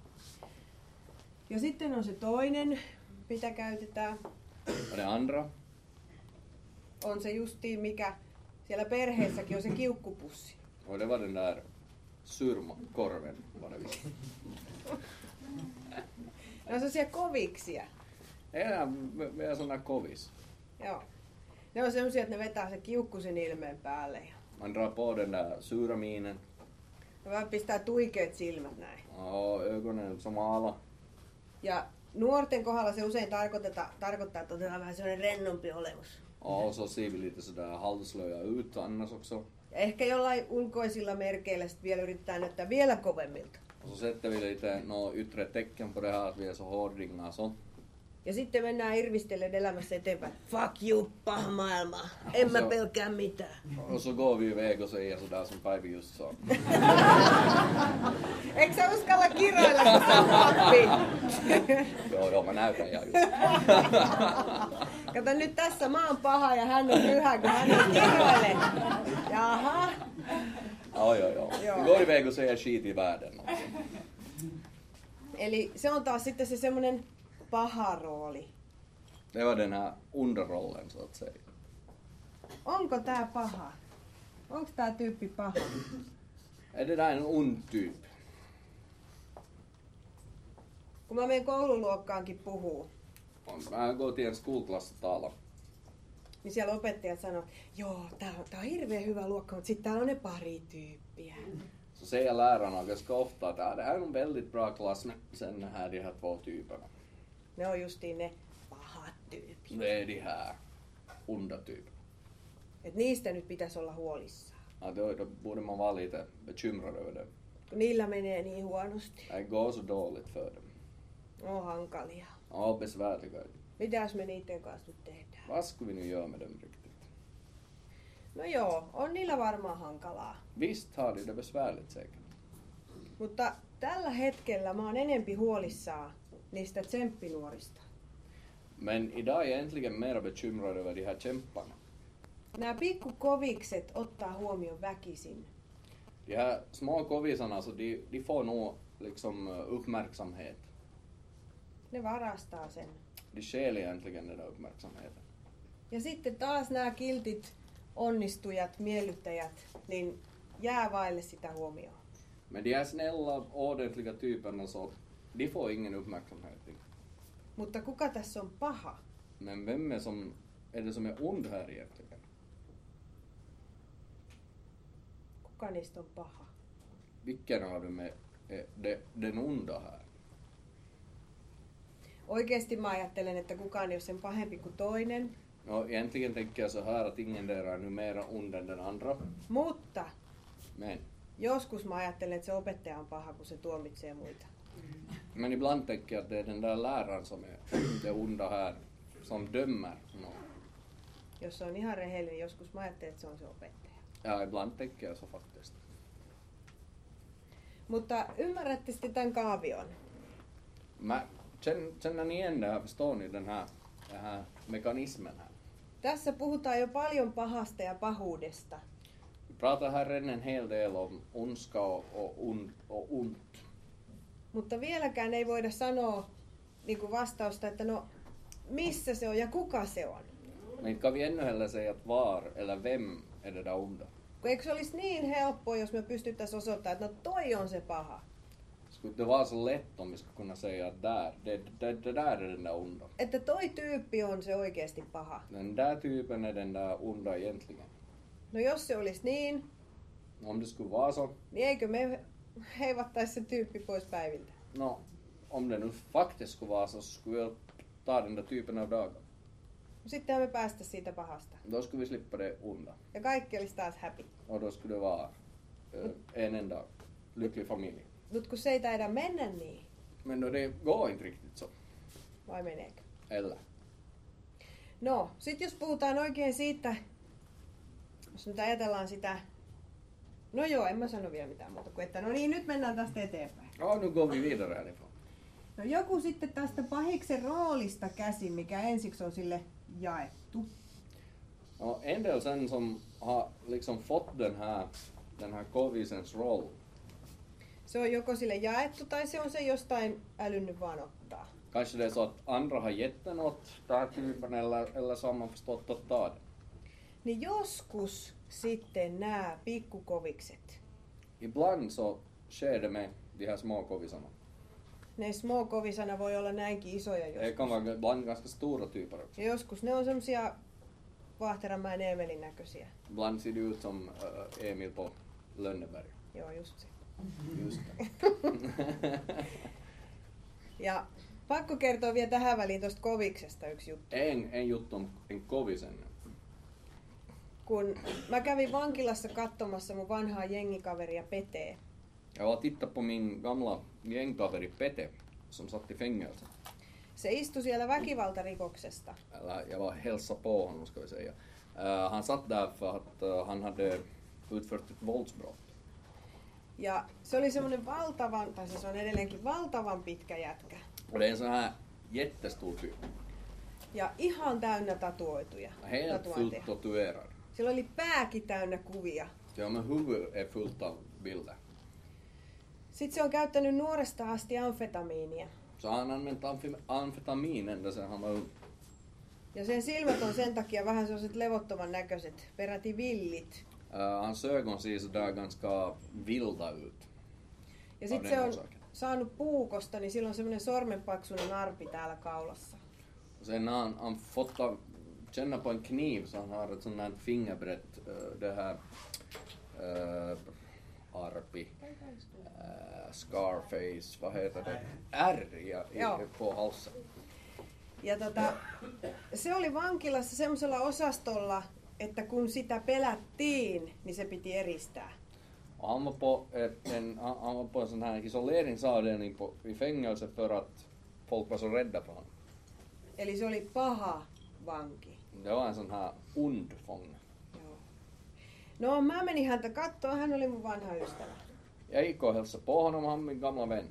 Ja sitten on se toinen, mitä käytetään. Och det andra, On se justiin mikä siellä perheessäkin on se kiukkupussi. och det var den där surmakorven var det visst. Ne on sellaisia koviksia. Enää vielä sån där kovis. Joo. Ne on semmosia, että ne vetää se kiukkusen ilmeen päälle. Ja Man drar på den där sura minen ne vaan pistää tuikeet silmät näin. och ögonen som ala. Ja nuorten kohdalla se usein tarkoittaa, tarkoittaa että otetaan vähän sellainen rennompi olemus. Och så ser vi lite sådär halvslöja ut annars också. Ja ehkä jollain ulkoisilla merkeillä sit vielä yritetään näyttää vielä kovemmilta. Och så sätter vi lite no, yttre tecken på det här att vi är så hårdinga så. Ja sitten mennään irvistellen elämässä eteenpäin. Fuck you, paha maailma. En mä Se on- pelkää mitään. Och så går vi iväg och säger sådär som Päivi just sa. Eikö sä uskalla kiroilla, kun sä oot pappi? Joo, joo, mä näytän ihan just. Kato nyt tässä, mä oon paha ja hän on pyhä, kun hän on kiroille. Jaha. Ja, ja, ja. Joo. Vi går iväg och säger skit i världen. Eli se on taas sitten se semmonen paha rooli. Det var den här underrollen så att säga. Onko tää paha? Onko tää tyyppi paha? Är det där en ond typ? Kun mä menen koululuokkaankin puhuu, Mä går till en skolklass och talar. niin siellä opettajat sanoo, joo, tää on, tää on hirveän hyvä luokka, mutta sitten täällä on ne pari tyyppiä. Så säger lärarna ganska ofta att ja, det här är en väldigt bra klass men sen här de här två typerna. Ne on justiin ne pahat tyypit. Det är de här onda typerna. Et niistä nyt pitäisi olla huolissaan. Ja, då, då borde man vara lite bekymrad över det. Kun niillä menee niin huonosti. Det går så dåligt för dem. On hankalia. Ja, besvärliga. Mitäs me niiden kanssa nyt tehdään? Vad ska vi nu göra med dem riktigt? No joo, on niillä varmaan hankalaa. Visst har de det besvärligt säkert. Mutta tällä hetkellä mä oon enempi huolissaan niistä tsemppinuorista. Men idag är jag egentligen mer bekymrad över de här kämparna. Nämä pikkukovikset ottaa huomioon väkisin. De här små kovisarna, så de, de får nog liksom uppmärksamhet. Ne varastaa sen. De stjäl egentligen den där uppmärksamheten. Ja sitten taas nämä kiltit onnistujat, miellyttäjät, niin jää vaille sitä huomioon. Men de här snälla, ordentliga typerna, så de får ingen uppmärksamhet. Mutta kuka tässä on paha? Men vem är, som, är det som är ond här egentligen? Kuka niistä on paha? Vilken av dem är, är det, den onda här? Oikeesti mä ajattelen, että kukaan ei ole sen pahempi kuin toinen. No, egentligen tänker jag så här att ingen där är nu mera ond än den andra. Mutta Men, joskus mä ajattelen, että se opettaja on paha, kun se tuomitsee muita. men ibland tänker jag att det är den där läraren som är det onda här, som dömer någon. Jos se on ihan rehellinen, joskus mä ajattelen, että se on se opettaja. Ja, ibland tänker jag så faktiskt. Mutta ymmärrätte sitten tämän kaavion. Mä, känner, känner ni igen det här, förstår ni den här, den här mekanismen här? Tässä puhutaan jo paljon pahasta ja pahuudesta. Vi pratar här redan en hel del om ondska och, och, und, och ont. Mutta vieläkään ei voida sanoa niin kuin vastausta, että no missä se on ja kuka se on. Men kan vi ännu heller säga att var eller vem är det där onda? Kun eikö se olisi niin helppoa, jos me pystyttäisiin osoittamaan, että no toi on se paha. Skulle det vara så lätt om vi skulle kunna säga att där, det, det, det där är den där onda. Että toi tyyppi on se oikeasti paha. Den där typen är den där onda egentligen. No jos se olisi niin, Om det skulle vara så, niin eikö me heivattaisi se tyyppi pois päiviltä? no, om det nu faktiskt skulle vara så, skulle vi ta den där typen av dagar. Sittenhän me päästä siitä pahasta. Då skulle vi slippa det onda. Ja kaikki olisi taas happy. Och då skulle det vara eh, en enda lycklig familj. Mut kun se ei taida mennä niin, Men då det går inte riktigt så. vai meneekö? Eller? No, sit jos puhutaan oikein siitä, jos nyt ajatellaan sitä, no joo, en mä sano vielä mitään muuta kuin, että no niin, nyt mennään tästä eteenpäin. Ja, nu går vi vidare härifrån. No joku sitten tästä pahiksen roolista käsin, mikä ensiksi on sille jaettu. Ja, en del sen som har liksom fått den här, den här kovisens roll. Se on joko sille jaettu tai se on se jostain älynnyt vaan ottaa. Kanske det är så att andra har gett den åt den här typen eller, eller så har man förstått att ta den. Niin joskus sitten nämä pikkukovikset, Ibland så sker det med de här små kovisarna. ne små kovisana voi olla näinkin isoja Det joskus. kan vara ibland ganska stora typer också. Ja joskus ne on semmosia Vaahteranmäen Eemelin näköisiä. Ibland ser det ut som äh, Emil på Lönneberg. Joo, just se. Just det. Ja pakko kertoa vielä tähän väliin tuosta koviksesta yksi juttu. En, en juttu om en kovisen. Kun mä kävin vankilassa katsomassa mun vanhaa jengikaveria Petee. Jag var tittat på min gamla gängkaveri Pete som satt i fängelse. Se istui siellä väkivaltarikoksesta. Eller jag var hälsa på honom ska vi säga. Uh, han satt där för att uh, han hade utfört ett våldsbrott. Ja se oli semmoinen valtavan, tai se on edelleenkin valtavan pitkä jätkä. Och det är en sån här jättestor typ. Ja ihan täynnä tatuoituja. Helt tatuointeja. fullt tatuerad. Sillä oli pääkin täynnä kuvia. Ja men huvud är fullt av bilder. Sitten se on käyttänyt nuoresta asti amfetamiinia. Så han använt amf- amfetamin ända sedan han var ung. Ja sen silmät on sen takia vähän sellaiset levottoman näköiset, peräti villit. Uh, hans ögon ser sådär ganska vilda ut. Ja sitten se on saanut puukosta, niin sillä on semmoinen sormenpaksuinen arpi täällä kaulassa. Sen när han, han fått av, känna på en kniv så han har ett sånt här fingerbrett, uh, det här uh, arpi, uh, scarface, vad heter det? R i, i, på halsen. Ja tota, se oli vankilassa semmoisella osastolla, että kun sitä pelättiin, niin se piti eristää. Han var på, ett, en, han var på en sån här isoleringsavdelning på, i fängelse för att folk var så rädda för honom. Eli se oli paha vanki. Det var en sån här ond fånge. Joo. No mä menin häntä kattoon, hän oli mun vanha ystävä. Jag gick och hälsade på honom, han min gamla vän.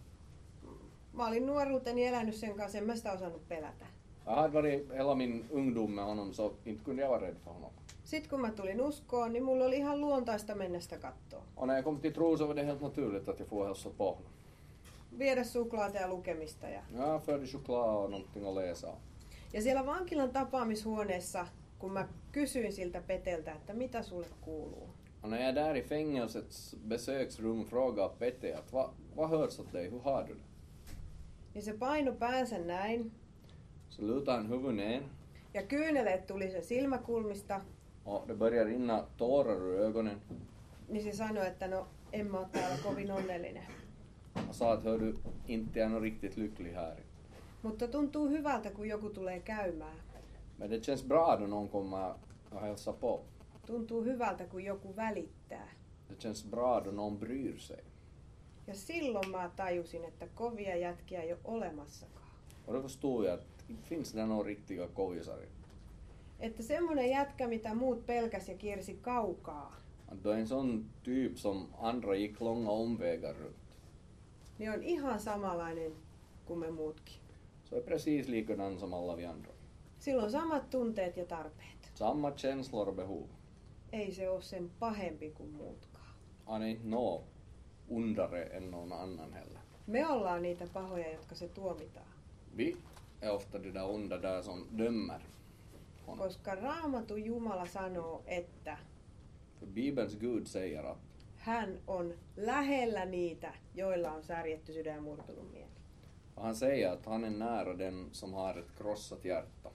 Mä olin nuoruuteni elänyt sen kanssa, en mä sitä osannut pelätä. Jag hade varit hela min ungdom med honom så inte kunde jag vara rädd för honom. Sitten kun mä tulin uskoon, niin mulla oli ihan luontaista mennä sitä kattoon. Och när jag kom till tro så var det helt naturligt att jag får hälsa på honom. Viedä suklaata ja lukemista. Ja, Jag förde choklad och någonting att läsa. ja siellä vankilan tapaamishuoneessa, kun mä kysyin siltä Peteltä, että mitä sulle kuuluu. Och när jag där i fängelsets besöksrum frågade Pete att vad, vad hörs åt dig, hur har du det? Niin se paino päänsä näin. Så lutade han huvudet ner Ja kyyneleet tuli sen silmäkulmista. och det började rinna tårar ur ögonen. Niin se sanoi, että no en mä ole täällä kovin onnellinen. Han sa att hör du, inte är nog riktigt lycklig här. Mutta tuntuu hyvältä, kun joku tulee käymään. Men det känns bra då någon kommer och hälsar på. Tuntuu hyvältä, kun joku välittää. Det känns bra då någon bryr sig. Ja silloin mä tajusin, että kovia jätkiä ei ole olemassakaan. Och då förstod jag att inte finns det några riktiga kovisar. Että semmonen jätkä, mitä muut pelkäs ja kiersi kaukaa, Att då en sån typ som andra gick långa omvägar runt. niin on ihan samanlainen kuin me muutkin. Så är precis likadan som alla vi andra. Sillä on samat tunteet ja tarpeet. Samma känslor och behov. Ei se ole sen pahempi kuin muutkaan. Han är inte nå ondare än någon annan heller. Me ollaan niitä pahoja, jotka se tuomitaan. Vi är ofta det där onda där som dömer honom. Koska Raamatun Jumala sanoo, että För Bibelns Gud säger att hän on lähellä niitä, joilla on särjetty sydän ja murtunut mieli. han säger att han är nära den som har ett krossat hjärta.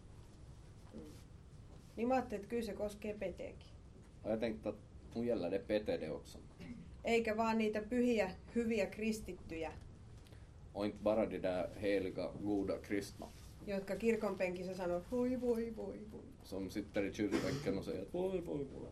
Niin mä ajattelin, että kyllä se koskee Peteäkin. Och jag tänkte att nu gäller det Pete det också. Eikä vaan niitä pyhiä, hyviä kristittyjä, Och inte bara de där heliga, goda kristna jotka kirkonpenkissä sanoo, voi voi voi voi. som sitter i kyrkbänken och säger att voi, voi, voi.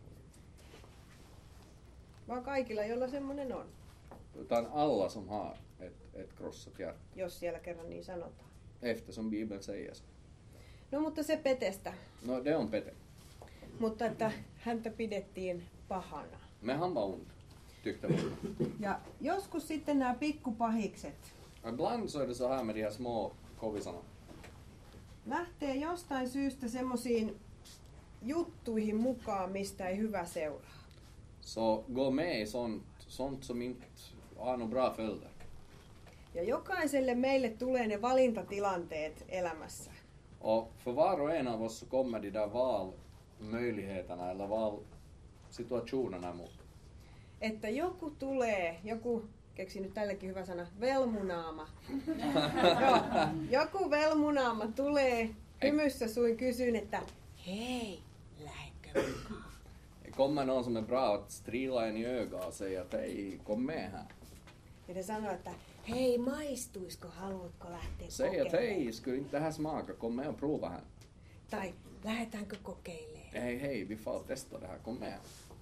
Vaan kaikilla, joilla semmonen on, Utan alla som har ett, ett krossat hjärta. jos siellä kerran niin sanotaan. Eftersom Bibeln säger så. No mutta se Petestä. No, det on Pete. Mutta että häntä pidettiin pahana. Men han var ond, tyckte man. Ja joskus sitten nämä pikkupahikset Ibland så är det så här med de här små kovisarna. lähtee jostain syystä semmoisiin juttuihin mukaan, mistä ei hyvä seuraa. Så gå med i sånt, sånt som inte har några bra följder. Ja jokaiselle meille tulee ne valintatilanteet elämässä. Och för var och en av oss så kommer de där valmöjligheterna eller valsituationerna mot. Että joku tulee, joku, keksin nyt tällekin hyvä sana, velmunaama. Joo, joku velmunaama tulee hymyssä suin kysyn, että hei, lähdekö mukaan? Det kommer någon som är bra att strila en i ögat och säga att hej, kom med här. Ja ne sanoo, että hei, maistuisko, haluatko lähteä Säg att kokeilemaan? hej, skulle inte det här smaka, kom med och prova här. Tai lähdetäänkö kokeilemaan? Hej, hej, vi får testa det här, kom med.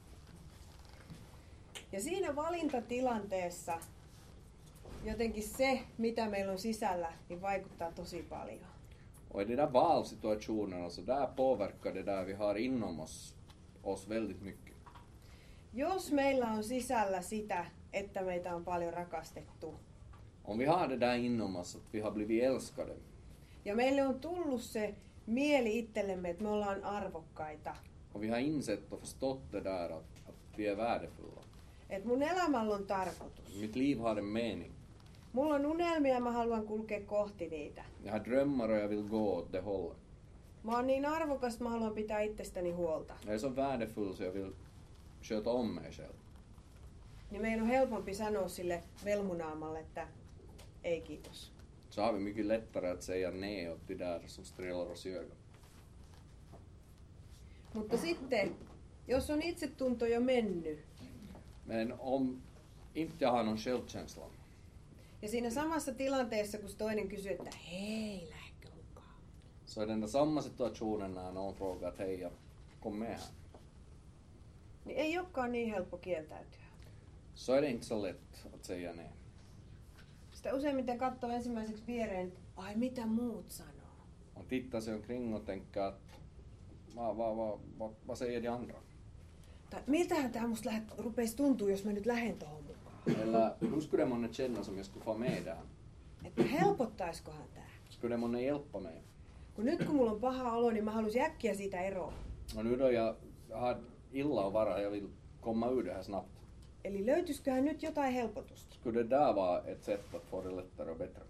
Ja siinä valintatilanteessa jotenkin se, mitä meillä on sisällä, niin vaikuttaa tosi paljon. Och i de där valsituationerna så där påverkar det där vi har inom oss, oss väldigt mycket. Jos meillä on sisällä sitä, että meitä on paljon rakastettu, Om vi har det där inom oss att vi har blivit älskade ja meille on tullut se mieli itsellemme, että me ollaan arvokkaita, och vi har insett och förstått det där att, att vi är värdefulla. että mun elämällä on tarkoitus. Mitt liv har en mening. Mulla on unelmia ja mä haluan kulkea kohti niitä. Jag har drömmar och jag vill gå åt det hållet. Mä oon niin arvokas, että mä haluan pitää itsestäni huolta. Jag är så värdefull så jag vill sköta om mig själv. Niin meidän on helpompi sanoa sille velmunaamalle, että ei kiitos. Så har vi mycket lättare att säga nej åt de där som strillar oss i ögat. Mutta sitten, jos on itsetunto jo mennyt, Men om inte jag har någon självkänsla ja siinä samassa tilanteessa, kun se toinen kysyy, että hei, lähdekö mukaan? Så i den där samma situationen när någon frågar att hej, kom med här. Niin ei olekaan niin helppo kieltäytyä. Så är det inte så lätt att säga nej. Sitä useimmiten katsoo ensimmäiseksi viereen, että ai mitä muut sanoo. Man tittar sig omkring och tänker att vad, vad, vad, vad, vad säger de andra? Tai miltähän tää musta lähet, rupeisi tuntua, jos mä nyt lähden tohon mukaan. Eller hur skulle det månne känna som jag skulle få med där? Että helpottaiskohan tää. Skulle det månne hjälpa mig? Kun nyt kun mulla on paha olo, niin mä haluaisin äkkiä siitä eroon. Och nu då jag har illa att vara, jag vill komma ur det här snabbt. Eli löytyisiköhän nyt jotain helpotusta? Skulle det där vara ett sätt att få det lättare och bättre?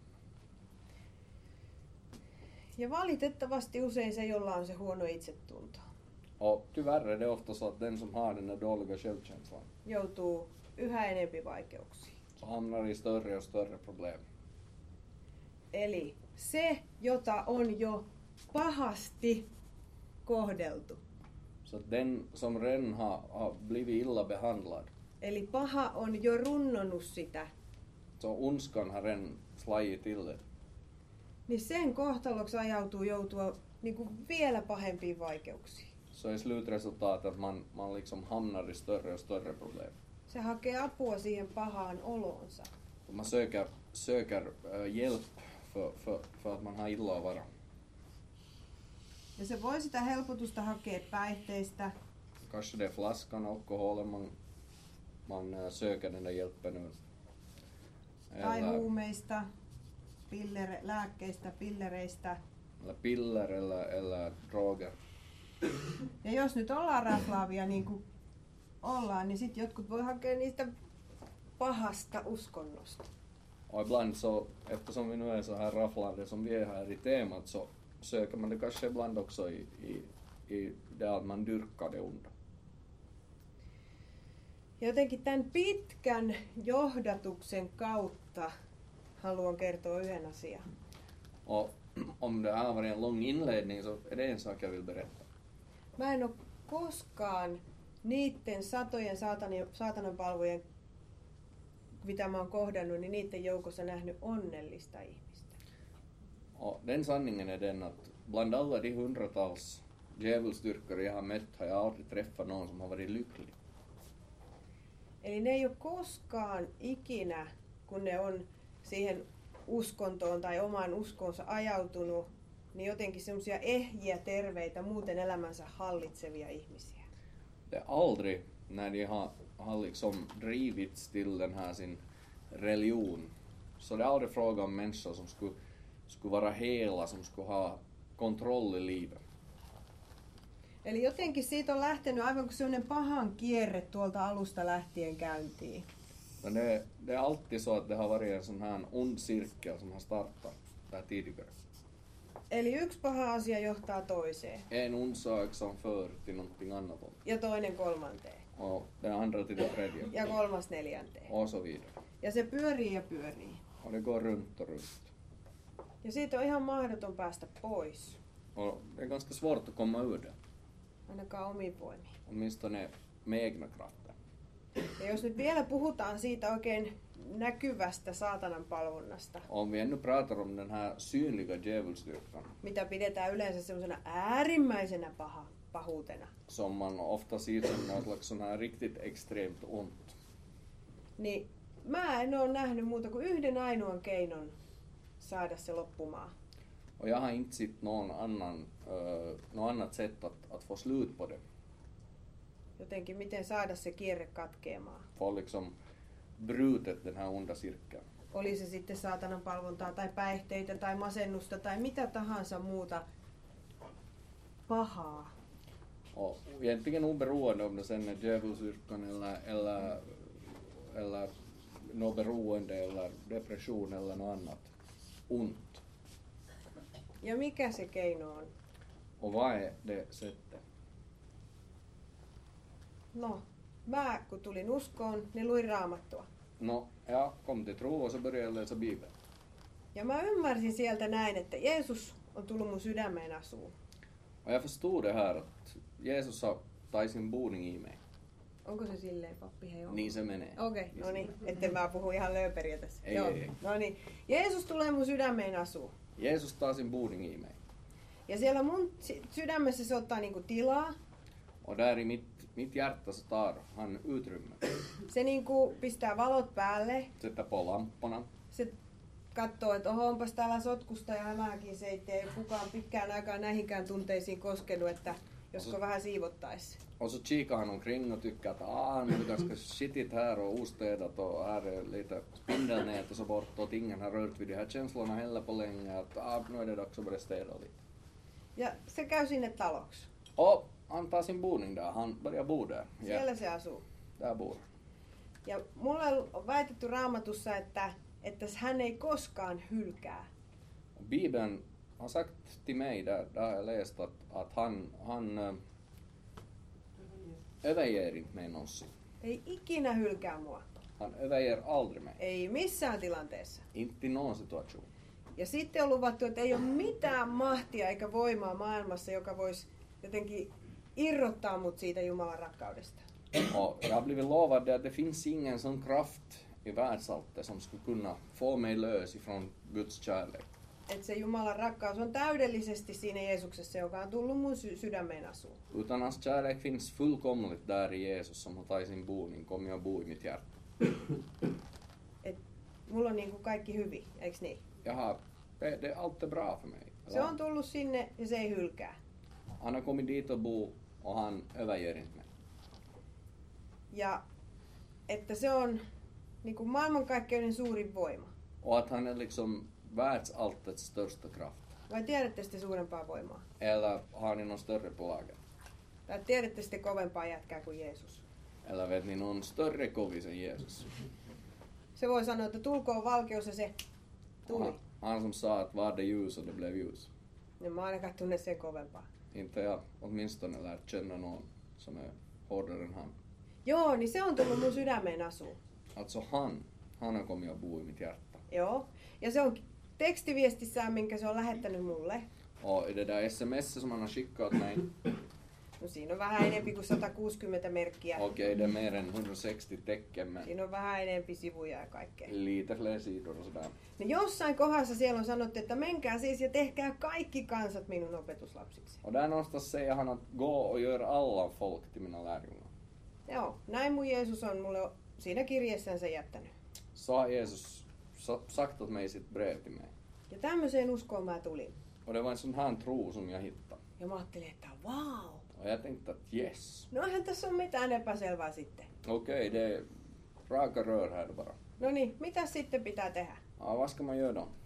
Ja valitettavasti usein se, jolla on se huono itsetunto, Och tyvärr är det ofta så att den som har den där dåliga självkänslan joutuu yhä enempi vaikeuksiin. så hamnar i större och större problem. Eli se, jota on jo pahasti kohdeltu. Så att den som redan har, har blivit illa behandlad, Eli paha on jo runnonut sitä. så ondskan har redan slagit till det. Niin sen kohtaloksi ajautuu joutua niin kuin vielä pahempiin vaikeuksiin. Så är slutresultatet att man, man liksom hamnar i större och större problem. Se hakee apua siihen pahaan oloonsa. Och man söker, söker äh, hjälp för, för, för att man har illa att vara. Ja se voi sitä helpotusta hakea päihteistä, Kanske det är flaskan, alkoholen, man, man äh, söker den där hjälpen ur. tai Eller, huumeista, pillere, lääkkeistä, pillereistä. eller piller eller, eller droger. Ja jos nyt ollaan raflaavia niin kuin ollaan, niin sitten jotkut voi hakea niistä pahasta uskonnosta. Och ibland så, eftersom vi nu är så här rafflande som vi är här i temat, så söker man det kanske ibland också i, i, i det att man dyrkar det onda. Ja jotenkin tämän pitkän johdatuksen kautta haluan kertoa yhden asian. Och om det här har varit en lång inledning så är det en sak jag vill berätta. Mä en ole koskaan niiden satojen saatanan, saatananpalvojen, mitä mä oon kohdannut, niin niiden joukossa nähnyt onnellista ihmistä. Och den sanningen är den att bland alla de hundratals djävulsdyrkare jag har mött har jag aldrig träffat någon som har varit lycklig. Eli ne ei ole koskaan ikinä, kun ne on siihen uskontoon tai omaan uskonsa ajautunut, niin jotenkin semmoisia ehjiä, terveitä, muuten elämänsä hallitsevia ihmisiä. Det är aldrig när de har, har liksom drivits till den här sin religion, så det är aldrig fråga om människor som skulle, skulle vara hela, som skulle ha kontroll i livet. Eli jotenkin siitä on lähtenyt aivan kuin semmoinen pahan kierre tuolta alusta lähtien käyntiin. Men det, det är alltid så att det har varit en sån här ond cirkel som har startat där tidigare. Eli yksi paha asia johtaa toiseen En ond sak som för till någonting annat. ja toinen kolmanteen Och den andra till det tredje. ja kolmas neljänteen. Och så vidare. Ja se pyörii ja pyörii. Och det går runt och runt. Ja siitä on ihan mahdoton päästä pois, Och det är ganska svårt att komma ur det. ainakaan omiin voimiin. Åtminstone med egna krafter. Ja jos nyt vielä puhutaan siitä oikein näkyvästä saatanan palvonnasta, Om vi ännu pratar om den här synliga djävulsdyrkan mitä pidetään yleensä semmoisena äärimmäisenä paha, pahuutena, som man ofta ser som något slags sån här riktigt extremt ont. niin mä en ole nähnyt muuta kuin yhden ainoan keinon saada se loppumaan. Och jag har inte sett någon annan, uh, något annat sätt att, att få slut på det. Jotenkin miten saada se kierre katkeamaan. Få liksom brutet den här onda cirkeln. Oli se sitten saatanan palvontaa tai päihteitä tai masennusta tai mitä tahansa muuta pahaa. Och egentligen oberoende om det sen är djävulsdyrkan eller, eller, eller något beroende eller depression eller något annat ont. Ja mikä se keino on? Och vad är det sättet? No, mä kun tulin uskoon, niin luin Raamattua. No, jag kom till tro och så började jag läsa Bibeln. Ja mä ymmärsin sieltä näin, että Jeesus on tullut mun sydämeen asuun. Och jag förstod det här att Jesus har tagit sin boning i mig. Onko se silleen, pappi? Hei, onko? Niin se menee. Okei, okay, no niin, etten mä puhu ihan lööperiä tässä. Ei, ei, ei. No niin, Jeesus tulee mun sydämeen asuun. Jesus tar sin boning i mig. Ja siellä mun sy- sydämessä se ottaa niinku tilaa. Och där i mitt, mitt hjärta så tar han utrymme. Se niinku pistää valot päälle. Sätter på lamporna. Se katsoo, että oho, onpas täällä sotkusta ja hämähäkin se, ettei kukaan pitkään aikaan näihinkään tunteisiin koskenut, että josko vähän siivottaisi. Och så kikar han omkring och tycker att ah, nu är det ganska skitigt här och ostädat och här är lite spindelnät och så bort och ingen har rört vid de här känslorna heller på länge. Att ah, nu är det dags att börja städa lite. Ja se käy sinne taloksi. Och han tar sin boning där, han börjar bo där. Siellä se asuu. Där bor han. Ja mulle on väitetty Raamatussa, että, että hän ei koskaan hylkää. Bibeln har sagt till mig, där, där har jag läst att, att han, han äh, överger inte mig någonsin. Ei ikinä hylkää mua. Han överger aldrig mig. Ei missään tilanteessa. Inte i någon situation. Ja sitten on luvattu, että ei ole mitään mahtia eikä voimaa maailmassa, joka voisi jotenkin irrottaa mut siitä Jumalan rakkaudesta. Och jag har blivit lovad det att det finns ingen sån kraft i världsalltet som skulle kunna få mig lös ifrån Guds kärlek. Että se Jumalan rakkaus on täydellisesti siinä Jeesuksessa, joka on tullut mun sy- sydämeen asuun. Utan hans kärlek finns fullkomligt där i Jesus som har tagit sin boning, kommit och bo i mitt hjärta. Et mulla on niinku kaikki hyvin, eiks niin? Jaha, det, det är alltid bra för mig. Se on tullut sinne ja se ei hylkää. Han har kommit dit och bo och han överger inte mig. Ja että se on niinku maailmankaikkeuden suurin voima. Och att han är liksom världsalltets största kraft. Vai tiedätte sitten suurempaa voimaa? Eller har ni någon större på lager? Tai tiedätte sitten kovempaa jätkää kuin Jeesus? Eller vet ni någon större kovis än Jesus? Se voi sanoa, että tulkoon valkeus ja se tuli. Han, han som sa att var det ljus och det blev ljus. Ja mä ainakaan tunne sen kovempaa. Inte jag åtminstone lärt känna någon som är hårdare än han. Joo, niin se on tullut mun sydämeen asuun. Alltså han, han har kommit att bo i mitt hjärta. Joo. Ja se on tekstiviestissään, minkä se on lähettänyt mulle. Och i det där sms som han har skickat mig, No siinä on vähän enempi kuin sata kuusikymmentä merkkiä. okej okay, det är mer än hundrasextio tecken men Siinä on vähän enempi sivuja ja kaikkea. lite fler sidor och sådär. No jossain kohdassa siellä on sanottu, että menkää siis ja tehkää kaikki kansat minun opetuslapsiksi. Och där någonstans säger han att gå och gör alla folk till mina lärjungar. Joo, näin mun Jeesus on mulle siinä kirjeessänsä jättänyt. Så har Jesus sa- sagt åt mig i sitt brev till mig. Ja tämmöiseen uskoon mä tulin. Och det var en sån här tro som jag hittade. Ja mä ajattelin, että wow. Och jag tänkte att yes, No eihän tässä ole mitään epäselvää sitten. okej okay, det är raka rör här bara. No niin, mitä sitten pitää tehdä? Ja, vad ska man göra då?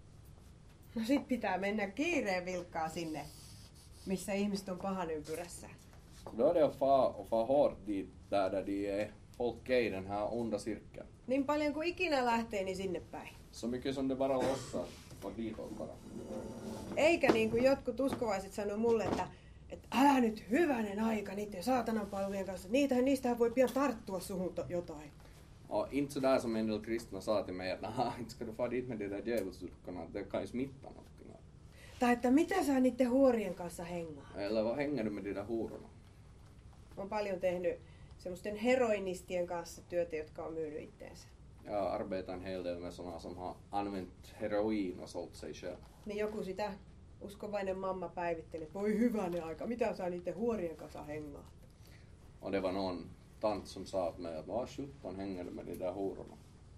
No sit pitää mennä kiireen vilkkaa sinne, missä ihmiset on pahan ympyrässä. Då är det att få, att få hårt dit där, där de är folk är i den här onda cirkeln. Niin paljon kuin ikinä lähtee, niin sinne päin. Så mycket som det bara lossar och ditåt bara. Eikä niin kuin jotkut uskovaiset sanoo mulle, että, että älä nyt hyvänen aika niiden saatanan palvelujen kanssa. Niitähän, niistähän voi pian tarttua suhun to- jotain. Och inte sådär som en del kristna sa till mig att nah, inte ska du få dit med de där djävulsdyrkarna, att det kan ju smitta någonting. Tai että mitä sä niiden huorien kanssa hengaa. Eller vad hänger du med de där hororna? Olen paljon tehnyt semmoisten heroinistien kanssa työtä, jotka on myynyt itteensä. Jag arbetar en hel del med sådana som har använt heroin och sålt sig själv. Niin joku sitä uskovainen mamma päivitteli, että voi hyvänen aika, mitä sä niiden huorien kanssa hengaat. Och det var någon tant som sa åt mig att vad sjutton hänger du med de där hororna?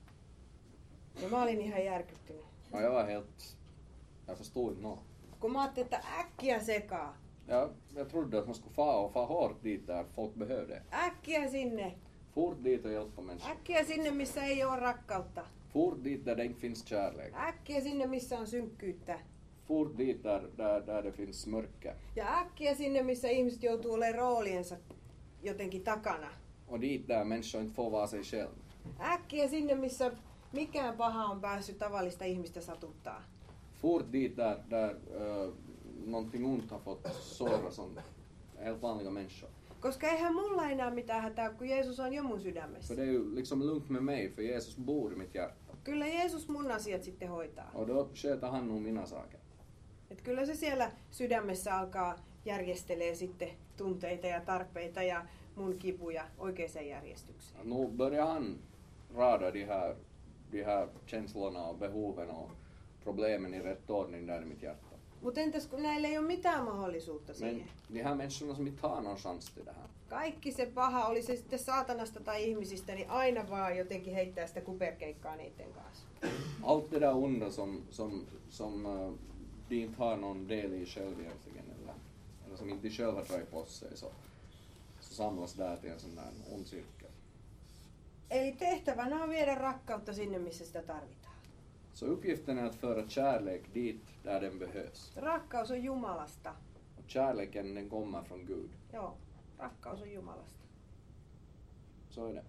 Ja mä olin ihan järkyttynyt. Och jag var helt, jag förstod inte något. Kun mä ajattelin, että äkkiä sekaa. Jag, jag trodde att man skulle få och få hårt dit där folk behövde. Äkkiä sinne. Fort dit och hjälpa människor. Äkkiä sinne, missä ei ole rakkautta. Fort dit där det inte finns kärlek. Äkkiä sinne, missä on synkkyyttä. Fort dit där, där, där det finns mörker. Ja äkkiä sinne, missä ihmiset joutuu olemaan rooliensa jotenkin takana. Och dit där människor inte får vara sig själv. Äkkiä sinne, missä mikään paha on päässyt tavallista ihmistä satuttaa. Fort dit där, där uh, någonting ont har fått såra som helt vanliga människor. Koska eihän mulla enää mitään hätää, kun Jeesus on jo mun sydämessä. För det är ju liksom lugnt med mig, för Jesus bor i mitt hjärta. Kyllä Jeesus mun asiat sitten hoitaa. Och då sköter han nog mina saker. Et kyllä se siellä sydämessä alkaa järjestelee sitten tunteita ja tarpeita ja mun kipuja oikeaan järjestykseen. Nu börjar han rada de här, de här känslorna och behoven och problemen i rätt ordning där i mitt hjärta. Mutta entäs kun näillä ei ole mitään mahdollisuutta siihen? Men de här människorna som inte har någon chans till det här. Kaikki se paha, oli se sitten saatanasta tai ihmisistä, niin aina vaan jotenkin heittää sitä kuperkeikkaa niiden kanssa. Allt det där onda som, som, som uh, de inte har någon del i själv egentligen, eller, eller som inte de själva drar på sig, så, så samlas där till en sån där ond cirkel. Eli tehtävänä on viedä rakkautta sinne, missä sitä tarvitaan. Så uppgiften är att föra kärlek dit där den behövs. Rakkaus on Jumalasta. Och kärleken den kommer från Gud. Joo, rakkaus on Jumalasta. Så är det.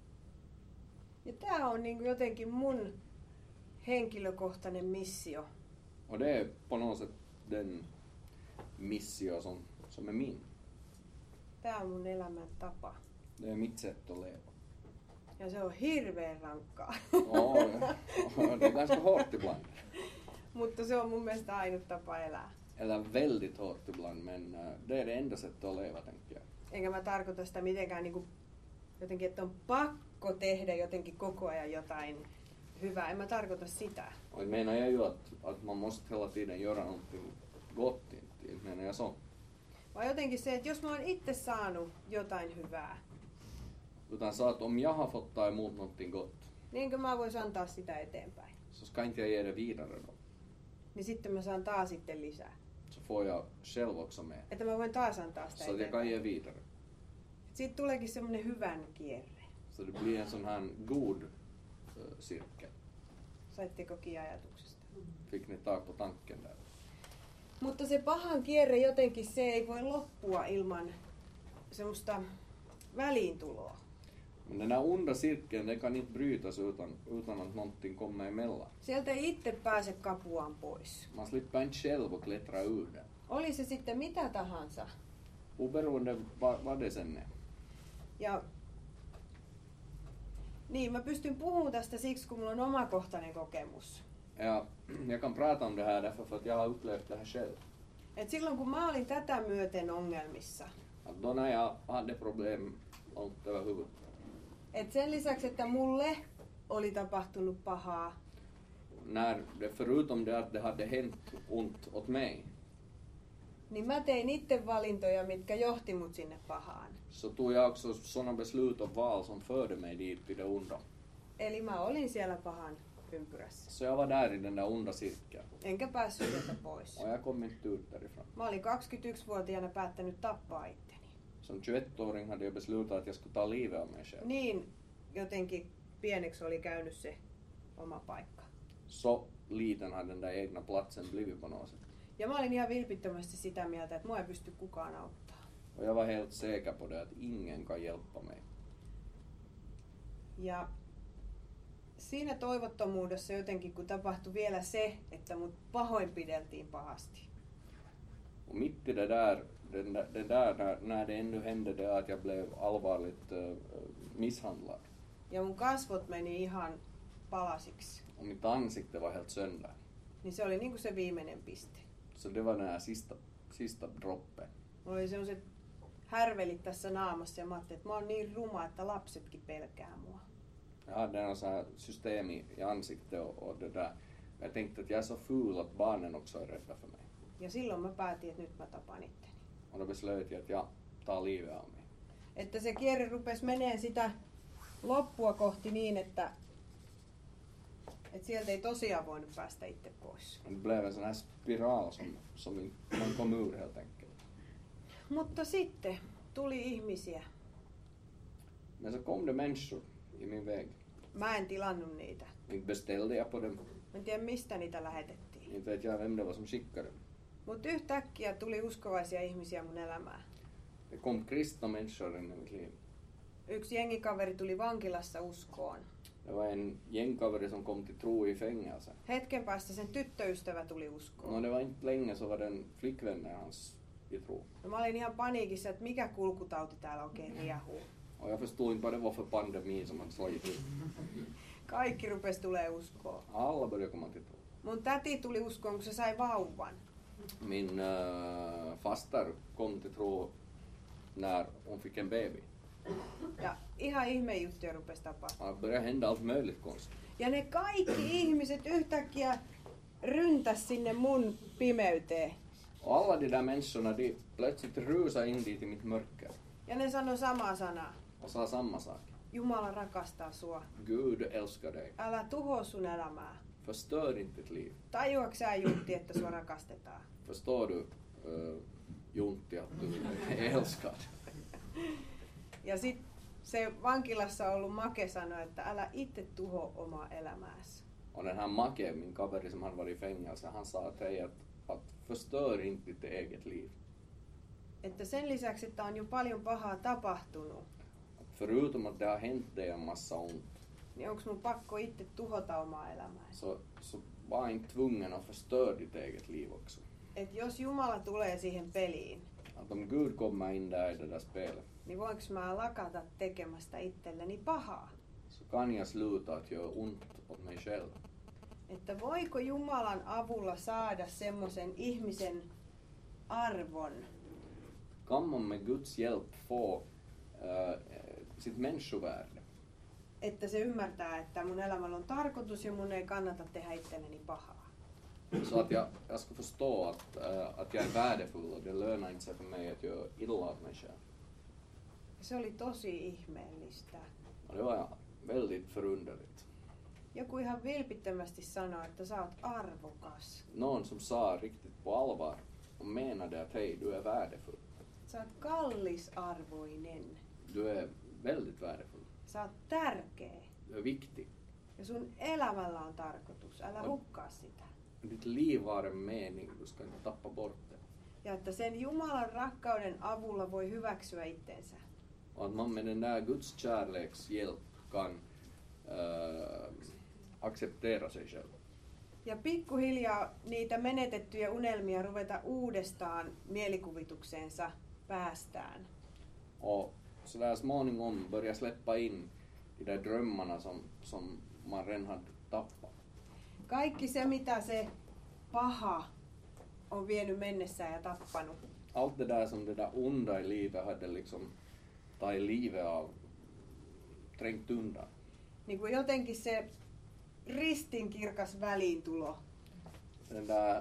Ja tää on niin jotenkin mun henkilökohtainen missio. Och det är på något sätt den missio som, som är min. Tää on mun elämän tapa. Det är mitt sätt att leva. Ja se on hirveän rankkaa. Ja, det är ganska hårt ibland. Mutta se on mun mielestä ainut tapa elää. Eller väldigt hårt ibland, men uh, det är det enda sättet att leva, tänker jag. Enkä mä tarkoita sitä mitenkään niin kuin, jotenkin, että on pakko tehdä jotenkin koko ajan jotain hyvää. En mä tarkoita sitä. Och jag menar jag ju att, att man måste hela tiden göra någonting gott, inte, inte menar jag så. Vaan jotenkin se, että jos mä oon itse saanut jotain hyvää, Utan så att om jag har fått ta emot någonting gott, niinkö mä vois antaa sitä eteenpäin. så ska inte jag ge det vidare då. Niin sitten mä saan taas sitten lisää. Så får jag själv också med. Että mä voin taas antaa sitä Så att jag kan eteenpäin. ge vidare. Siitä tuleekin semmonen hyvän kierre. Så det blir en sån här god uh, cirkel. Saitteko kiinni ajatuksesta? Fick ni tag på tanken där? Mutta se pahan kierre jotenkin, se ei voi loppua ilman semmoista väliintuloa. Men den här onda cirkeln, den kan inte brytas utan, utan att någonting kommer emellan. Sieltä ei itse pääse kapuaan pois. Man slipper inte själv att klättra ur den. Oli se sitten mitä tahansa. Oberoende vad, vad det sen är. Ja niin, mä pystyn puhumaan tästä siksi, kun mulla on omakohtainen kokemus. Ja, jag kan prata om det här därför för att jag har upplevt det här själv. Et silloin kun mä olin tätä myöten ongelmissa, Att då när jag hade problem långt över huvudet. et sen lisäksi, että mulle oli tapahtunut pahaa, När det, förutom det att det hade hänt ont åt mig, niin mä tein itse valintoja, mitkä johti mut sinne pahaan. så tog jag också sådana beslut och val som förde mig dit till det onda. Eli mä olin siellä pahan ympyrässä. Så jag var där i den där onda cirkeln. Enkä päässyt sieltä pois. Och jag kom inte ut därifrån. Mä olin kaksikymmentäyksivuotiaana päättänyt tappaa itteni. Som tjugoett-åring hade jag beslutat att jag skulle ta livet av mig själv. Niin jotenkin pieneksi oli käynyt se oma paikka. Så liten hade den där egna platsen blivit på något sätt. Ja mä olin ihan vilpittömästi sitä mieltä, että mua ei pysty kukaan auttaa. Och jag var helt säker på det att ingen kan hjälpa mig. Ja siinä toivottomuudessa jotenkin, kun tapahtui vielä se, että mut pahoinpideltiin pahasti. Och mitt i det där, den där, den där när, när det ändå hände det att jag blev allvarligt uh, misshandlad. Ja mun kasvot meni ihan palasiksi. Och mitt ansikte var helt sönder. Niin se oli niinku se viimeinen piste. Så det var den här sista, sista droppen. Mulla oli sellaiset härvelit tässä naamassa ja mä ajattelin, että mä oon niin ruma, että lapsetkin pelkää mua. Jag hade en sån här system i, i ansiktet och, och det där. Jag tänkte att jag är så ful att barnen också är rädda för mig. Ja silloin mä päätin, että nyt mä tapan itteni. Och då beslöt jag att jag tar livet av mig. Että se kierre rupesi menee sitä loppua kohti niin, että, että sieltä ei tosiaan voinut päästä itse pois. Det blev en sån här spiral som, som inte man kom ur helt enkelt. Mutta sitten tuli ihmisiä. Men så kom det människor i min väg. Mä en tilannut niitä. Inte beställde jag på dem. Mä en tiedä mistä niitä lähetettiin. Inte vet jag vem det var som skickade dem. Mutta yhtäkkiä tuli uskovaisia ihmisiä mun elämään. Det kom kristna människor in i mitt liv. Yksi jengikaveri tuli vankilassa uskoon. Det var en gängkaveri som kom till tro i fängelse. Hetken päästä sen tyttöystävä tuli uskoon. No det var inte länge så var den flickvännen hans i tro. No, mä olin ihan paniikissa, että mikä kulkutauti täällä oikein riehuu. Och jag förstod inte vad det var för pandemi som hade slagit ut. Kaikki rupesi tulee uskoon. Alla började komma till tro. Mun täti tuli uskoon, kun se sai vauvan. Min äh, faster kom till tro när hon fick en baby. Ja ihan ihmejuttuja rupesi tapahtumaan. Det började hända allt möjligt konstigt. Ja ne kaikki ihmiset yhtäkkiä ryntäs sinne mun pimeyteen. Och alla de där människorna, de plötsligt rusade in dit i mitt mörker Ja ne sanoi samaa sanaa. och sa samma sak. Jumala rakastaa sua. Gud älskar dig. Älä tuhoa sun elämää. Förstör inte ditt liv. Tajuatko sä, Juntti, että sua rakastetaan? Förstår du, uh, Juntti, att du är älskad? Ja sit se vankilassa ollut Make sanoi, että älä itse tuho omaa elämääsi. Och den här Make, min kaveri som hade varit i fängelse, han sa att, hej, att, att förstör inte ditt eget liv. Että sen lisäksi, että on jo paljon pahaa tapahtunut, Att förutom att det har hänt dig en massa ont, niin onko mun pakko itse tuhota omaa elämääsi? så, så var inte tvungen att förstöra ditt eget liv också. Et jos Jumala tulee siihen peliin, Att om Gud kommer in där i det där spelet, niin voinko mä lakata tekemästä itselleni pahaa? så kan jag sluta att göra ont åt mig själv. Että voiko Jumalan avulla saada semmoisen ihmisen arvon, Kan man med Guds hjälp få uh, sitt människovärde? että se ymmärtää, että mun elämällä on tarkoitus ja mun ei kannata tehdä itselleni pahaa. Så att jag, jag ska förstå att, uh, att jag är värdefull och det lönar inte sig för mig att göra illa åt mig själv. Se oli tosi ihmeellistä. Och det var väldigt förunderligt. Joku ihan vilpittömästi sanoi, että sä oot arvokas. Någon som sa riktigt på allvar och menade att hej, du är värdefull. Sä oot kallisarvoinen. Du är väldigt värdefull. Sä oot tärkeä. Du är viktig. Ja sun elämällä on tarkoitus. Älä hukkaa sitä. Ditt liv har en mening, du ska inte tappa bort det. Ja että sen Jumalan rakkauden avulla voi hyväksyä itsensä. Och att man med den där Guds kärleks hjälp kan uh, acceptera sig själv. Ja pikkuhiljaa niitä menetettyjä unelmia ruveta uudestaan mielikuvitukseensa päästään. Och så där småningom börja släppa in de där drömmarna som, som man redan hade tappat. Kaikki se, mitä se paha on vienyt mennessään ja tappanut. Allt det där som det där onda i livet hade liksom tagit livet av, trängt undan. Niin kuin jotenkin se ristinkirkas väliintulo. Den där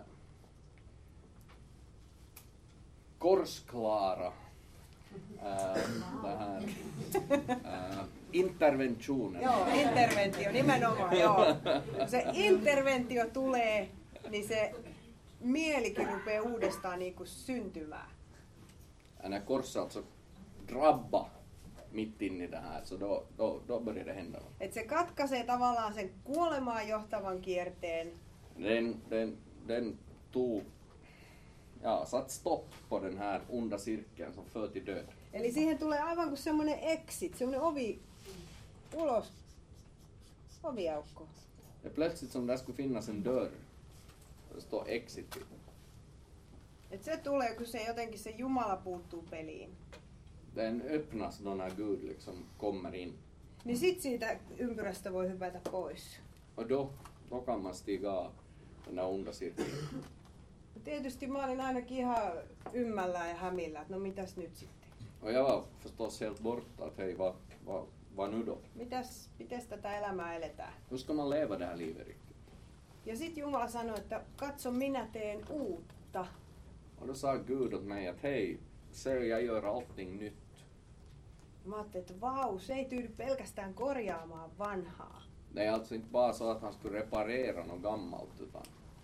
korsklara äh, det här, äh, interventionen. Joo, interventio, nimenomaan, joo. Kun se interventio tulee, niin se mielikin rupeaa uudestaan niin kuin syntymään. När korset alltså drabba mitt in i det här, så då, då, då börjar det hända. Et se katkaisee tavallaan sen kuolemaan johtavan kierteen. Den, den, den tog, ja, satt stopp på den här onda cirkeln som för till död. Eli siihen tulee aivan kuin semmoinen exit, semmoinen ovi ulos, oviaukko. Det är plötsligt som där skulle finnas en dörr. Det står exit. Et se tulee, kun se jotenkin se Jumala puuttuu peliin. Den öppnas då när Gud liksom kommer in. Niin sit siitä ympyrästä voi hypätä pois. Och då, då kan man stiga av den där onda cirkeln. Tietysti mä olin ainakin ihan ymmällään ja hämillä, että no mitäs nyt sitten? Och jag var förstås helt borta att hej, vad, vad, vad nu då? Mitäs, mites tätä elämää eletään? Hur ska man leva det här livet riktigt? Ja sit Jumala sanoi, että katso, minä teen uutta. Och då sa Gud åt mig att hej, se jag gör allting nytt. Mä ajattelin, että vau, se ei tyydy pelkästään korjaamaan vanhaa. Det är alltså inte bara så att han skulle reparera något gammalt, utan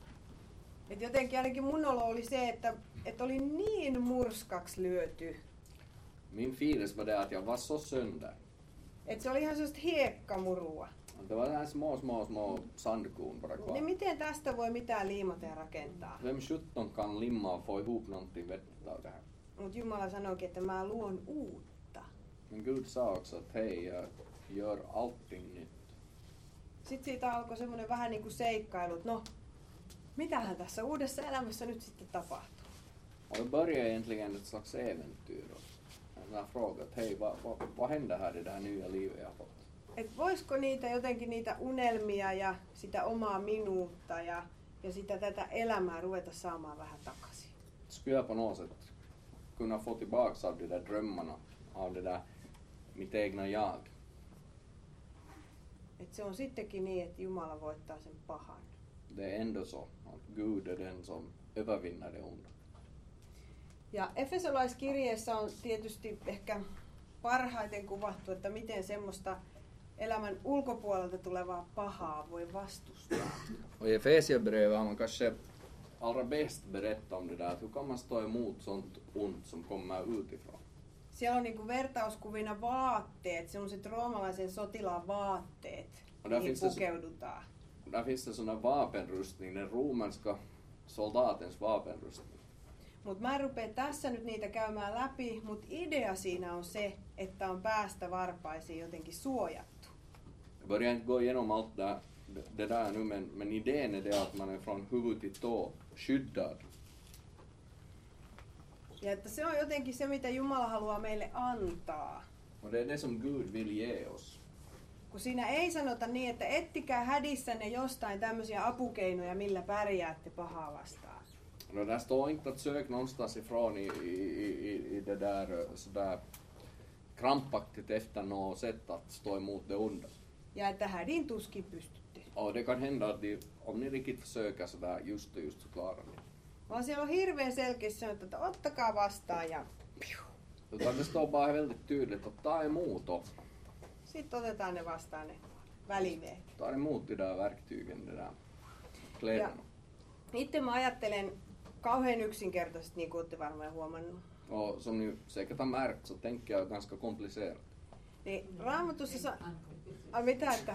Et jotenkin ainakin mun olo oli se, että, että oli niin murskaksi lyöty. min filis var det att jag var så sönder. Että se oli ihan sellaista hiekkamurua. Det var här små, små, små sandkorn bara Niin kvar. miten tästä voi mitään liimata ja rakentaa? Vem sjutton kan limma och få ihop någonting vettigt av det här? Mutta Jumala sanoikin, että mä luon uutta. Men Gud sa också att hej, jag gör allting nytt. Sitten siitä alkoi semmoinen vähän niin kuin seikkailu, että no, mitähän tässä uudessa elämässä nyt sitten tapahtuu? Och då började egentligen ett slags äventyr. Jag frågade att hej, vad, vad, vad händer här i det här nya livet jag har fått? Et voisiko niitä jotenkin niitä unelmia ja sitä omaa minuutta ja, ja sitä tätä elämää ruveta saamaan vähän takaisin? Skulle jag på något sätt kunna få tillbaka av de där drömmarna, av det där mitt egna jag? Et se on sittenkin niin, että Jumala voittaa sen pahan. det är ändå så att Gud är den som övervinner det onda. Ja Efesolaiskirjeessä on tietysti ehkä parhaiten kuvattu, että miten semmoista elämän ulkopuolelta tulevaa pahaa voi vastustaa. Och i Efesierbrevet har man kanske allra bäst berättat om det där, att hur kan man stå emot sånt ont som kommer utifrån. Siellä on niinku vertauskuvina vaatteet, semmoiset roomalaisen sotilaan vaatteet, mihin pukeudutaan. Där finns det sån vapenrustning, den romerska soldatens vapenrustning. Mut mä en rupea tässä nyt niitä käymään läpi, mut idea siinä on se, että on päästä varpaisiin jotenkin suojattu. Jag börjar inte gå igenom allt det, det där nu, men, men idén är det att man är från huvud till tå skyddad. Ja että se on jotenkin se, mitä Jumala haluaa meille antaa. Och det är det som Gud vill ge oss. Kun siinä ei sanota niin, että ettikää hädissänne jostain tämmöisiä apukeinoja, millä pärjäätte pahaa vastaan. No, där står inte att sök någonstans ifrån i, i, i, i det där sådär krampaktigt efter något sätt att stå emot det onda. Ja että hädin tuskin pystytte. Och det kan hända att de, om ni riktigt försöker sådär just och just så klarar ni. Vaan siellä on hirveän selkeästi sanottu, että ottakaa vastaan ja piu. Utan det står bara väldigt tydligt att ta emot och Sitten otetaan ne vastaan ne välineet. ta emot de där verktygen, det där kläderna. Itse mä ajattelen kauhean yksinkertaisesti, niin kuin olette varmaan huomannut. Och som ni säkert har märkt så tänker jag ganska komplicerat. Niin Raamatussa sa... Ai mitä, että...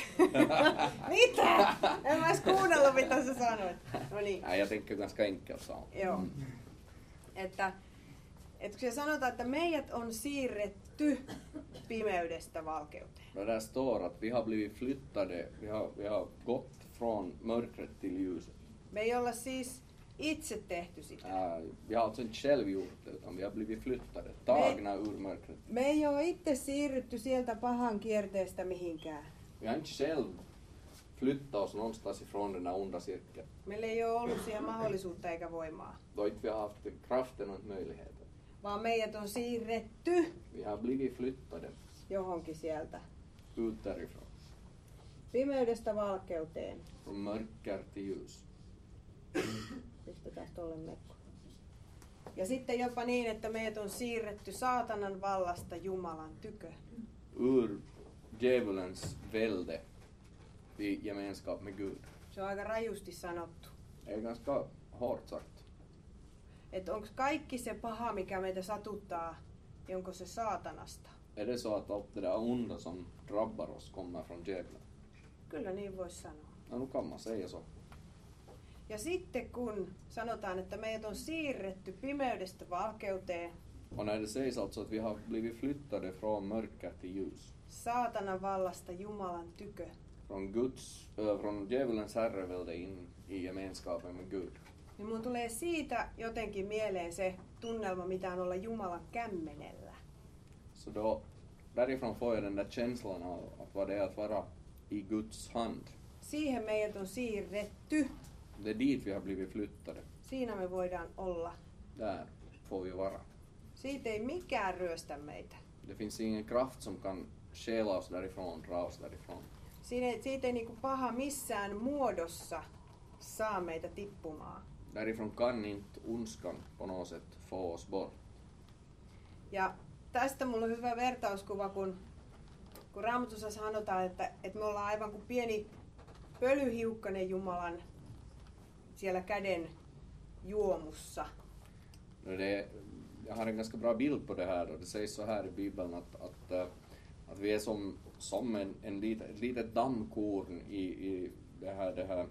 mitä? En mä edes kuunnellut, mitä sä sanoit. No niin. Nej, jag tänker ganska enkelt så. Joo. Että, että kun se sanotaan, että meidät on siirretty pimeydestä valkeuteen. No, där står att vi har blivit flyttade, vi har, vi har gått från mörkret till ljuset. Me ei olla siis itse tehty sitä. Äh, vi har alltså inte själv gjort det, utan vi har blivit flyttade, tagna ur mörkret. Me ei ole itse siirrytty sieltä pahan kierteestä mihinkään. Vi har inte själv flyttat oss någonstans ifrån den där onda cirkeln. Meillä ei ole ollut siihen mahdollisuutta eikä voimaa. Då inte vi har haft kraften och möjligheten. Vaan meidät on siirretty Vi har blivit flyttade johonkin sieltä. ut därifrån. Pimeydestä valkeuteen. Från mörker till ljus. Pistetään tolle mekko. Ja sitten jopa niin, että meidät on siirretty saatanan vallasta Jumalan tykö. Ur djävulens välde i gemenskap med Gud. Se on aika rajusti sanottu. Det är ganska hårt sagt. Että onko kaikki se paha, mikä meitä satuttaa, niin onko se saatanasta? Är det så att allt det där onda som drabbar oss kommer från djävulen? Kyllä niin voisi sanoa. Ja, nu kan man säga så. Ja sitten kun sanotaan, että meidät on siirretty pimeydestä valkeuteen, Och när det sägs alltså att vi har blivit flyttade från mörker till ljus. saatanan vallasta Jumalan tykö, Från Guds, äh, från djävulens herrevälde in i gemenskapen med Gud. niin mun tulee siitä jotenkin mieleen se tunnelma, mitä on olla Jumalan kämmenellä. Så då, därifrån får jag den där känslan av att vad det är att vara i Guds hand. Siihen meidät on siirretty. Det är dit vi har blivit flyttade. Siinä me voidaan olla. Där får vi vara. Siitä ei mikään ryöstä meitä. Det finns ingen kraft som kan stjäla oss därifrån, dra oss därifrån. Siitä, siitä ei niinku paha missään muodossa saa meitä tippumaan. Därifrån kan inte ondskan på något sätt få oss bort. Ja tästä mulla on hyvä vertauskuva, kun, kun Raamatussa sanotaan, että, että me ollaan aivan kuin pieni pölyhiukkanen Jumalan siellä käden juomussa. No det, jag har en ganska bra bild på det här. Och det sägs så här i Bibeln att, att, äh, att vi är som, som en, en lit, ett litet dammkorn i, i det här, det här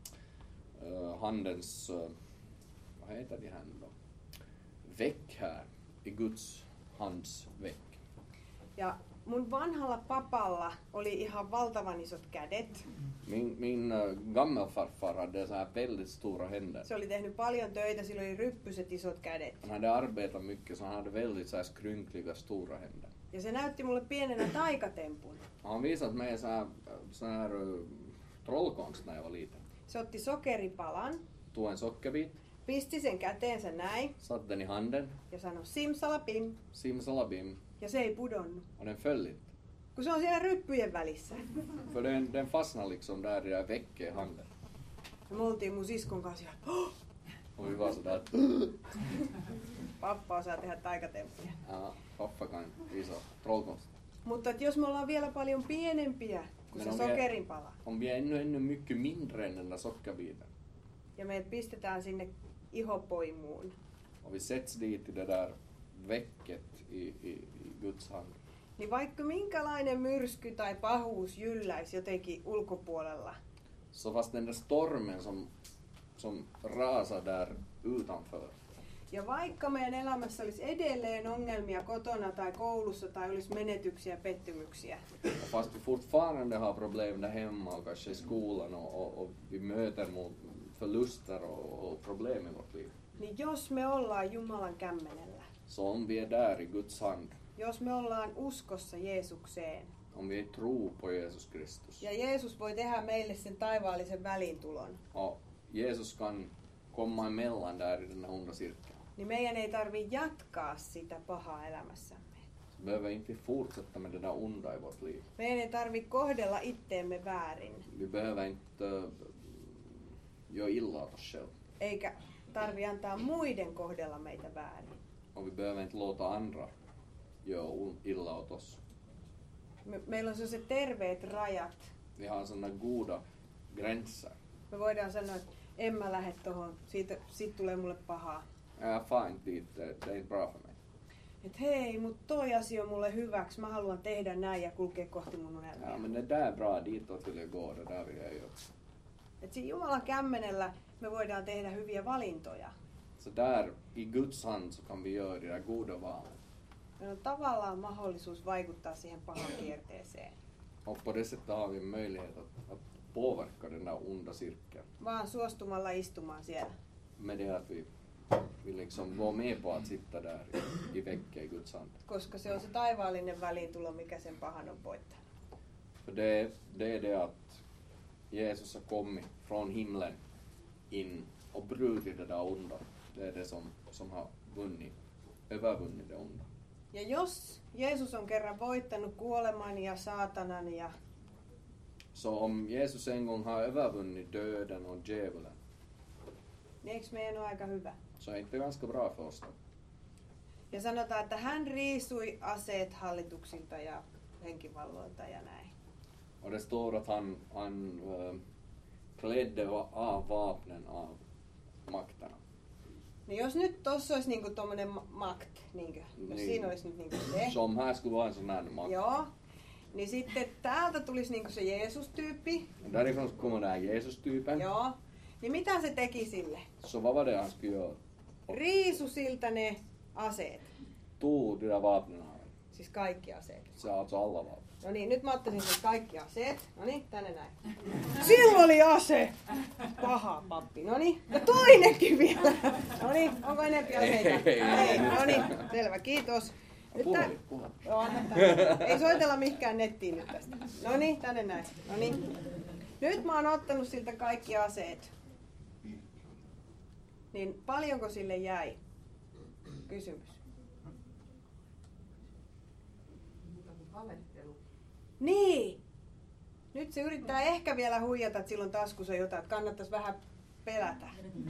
uh, handens, uh, vad heter det här då? Väck här, i Guds hands väck. Ja mun vanhalla papalla oli ihan valtavan isot kädet. Min, min uh, gammelfarfar hade så här väldigt stora händer. Se oli tehnyt paljon töitä, sillä oli ryppyset isot kädet. Han hade arbetat mycket så han hade väldigt så här skrynkliga stora händer. Ja se näytti mulle pienenä taikatempun. Han visade mig så här, så här uh, trollkonst när jag var liten. Se otti sokeripalan, Tog en sockerbit, pisti sen käteensä näin satte den i handen, ja sanoi simsalapim. simsalabim, Ja se ei pudonnut. och den föll inte. Kun se on siellä ryppyjen välissä. För den, den fastnade liksom där i det där väcket i handen. Ja me oltiin mun siskon kanssa ja Och vi var sådär att pappa osaa tehdä taikatemppuja. ja, pappa kan visa trollkonst. Mutta että jos me ollaan vielä paljon pienempiä kuin Men se om vi är- sokerinpala Om vi är ännu, ännu mycket mindre än den där sockerbiten ja meidät pistetään sinne ihopoimuun, och vi sätts dit i det där väcket i, i, i Guds hand. niin vaikka minkälainen myrsky tai pahuus jylläisi jotenkin ulkopuolella, Så fast den där stormen som, som rasar där utanför, ja vaikka meidän elämässä olisi edelleen ongelmia kotona tai koulussa tai olisi menetyksiä ja pettymyksiä, och fast vi fortfarande har problem där hemma och kanske i skolan och, och, och vi möter mot förluster och, och problem i vårt liv. niin jos me ollaan Jumalan kämmenellä, Så om vi är där i Guds hand, jos me ollaan uskossa Jeesukseen, om vi tror på Jesus Kristus ja Jeesus voi tehdä meille sen taivaallisen väliintulon, och Jesus kan komma emellan där i den här onda cirkeln, niin meidän ei tarvitse jatkaa sitä pahaa elämässämme. så behöver inte vi fortsätta med det där onda i vårt liv. Meidän ei tarvitse kohdella itteemme väärin, Vi behöver inte äh, göra illa åt oss själva. eikä tarvitse antaa muiden kohdella meitä väärin. Och vi behöver inte låta andra göra on- illa åt oss. Me, meillä on sellaiset terveet rajat. Vi har sådana goda gränser. Me voidaan sanoa, että en mä lähde tohon, siitä, siitä tulee mulle pahaa. Jag far inte dit, det, det är inte bra för mig. Että hei, mut toi asia on mulle hyväksi, mä haluan tehdä näin ja kulkea kohti mun unelmia. Ja, men det där är bra, ditåt vill jag gå, det där vill jag göra. Et siinä Jumalan kämmenellä me voidaan tehdä hyviä valintoja. Så där, i Guds hand, så kan vi göra de där goda valen. Meillä on tavallaan mahdollisuus vaikuttaa siihen pahan kierteeseen. Och på det sättet har vi en möjlighet att, att påverka den där onda cirkeln. Vaan suostumalla istumaan siellä. Med det att vi, vi liksom var med på att sitta där i, i väcket i Guds hand. Koska se on se taivaallinen väliintulo, mikä sen pahan on voittanut. För det, det är det att Jesus har kommit från himlen in och brutit det där onda. Det är det som, som har vunnit, övervunnit det onda. Ja jos Jeesus on kerran voittanut kuoleman ja saatanan ja Så om Jesus en gång har övervunnit döden och djävulen, niin eikö meidän ole aika hyvä? så är det ganska bra för oss då. Ja sanotaan, että hän riisui aseet hallituksilta ja henkivalloilta ja näin. Och det står att han, han äh, klädde va- av vapnen av makterna. Niin jos nyt tossa olisi niinku tommonen ma- makt, niinkö? Jos Niin. siinä olisi nyt niinku se. Som här skulle vara en sån här makt. Joo. Niin sitten täältä tulisi niinku se Jeesus-tyyppi. Och därifrån så kommer den här Jesus-typen. Joo. Niin mitä se teki sille? Så vad var det han skulle göra? Riisu siltä ne aseet. Tog de där vapnen av honom. Siis kaikki aseet. Så alltså alla vapen. No niin, nyt mä ottaisin sen kaikki aseet. No niin, tänne näin. Sillä oli ase! Paha pappi. No niin, ja toinenkin vielä. No niin, onko enempi aseita? Ei, ei, ei. No niin, selvä, kiitos. Nyt tää- Puhelin, puhelin. Joo, anna tää. Ei soitella mihinkään nettiin nyt tästä. No niin, tänne näin. No niin. Nyt mä oon ottanut siltä kaikki aseet. Niin paljonko sille jäi? Kysymys. Niin! Nyt se yrittää ehkä vielä huijata, että silloin taskussa jotain, että kannattaisi vähän pelätä.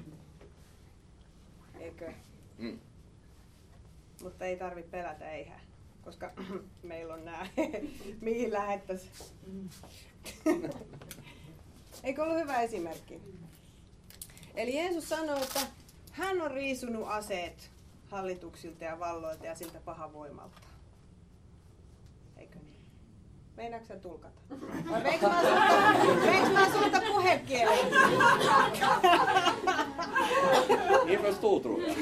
Eikö? Mm. Mutta ei tarvitse pelätä, eihän. Koska meillä on nää, mihin lähettäisiin. Eikö ollut hyvä esimerkki? Eli Jeesus sanoo, että hän on riisunut aseet hallituksilta ja valloilta ja siltä pahavoimalta. Eikö niin? Meinaatko sä tulkata? Vai veiks mä sulta, veiks mä sulta puhekielen? Ni förstår tror jag.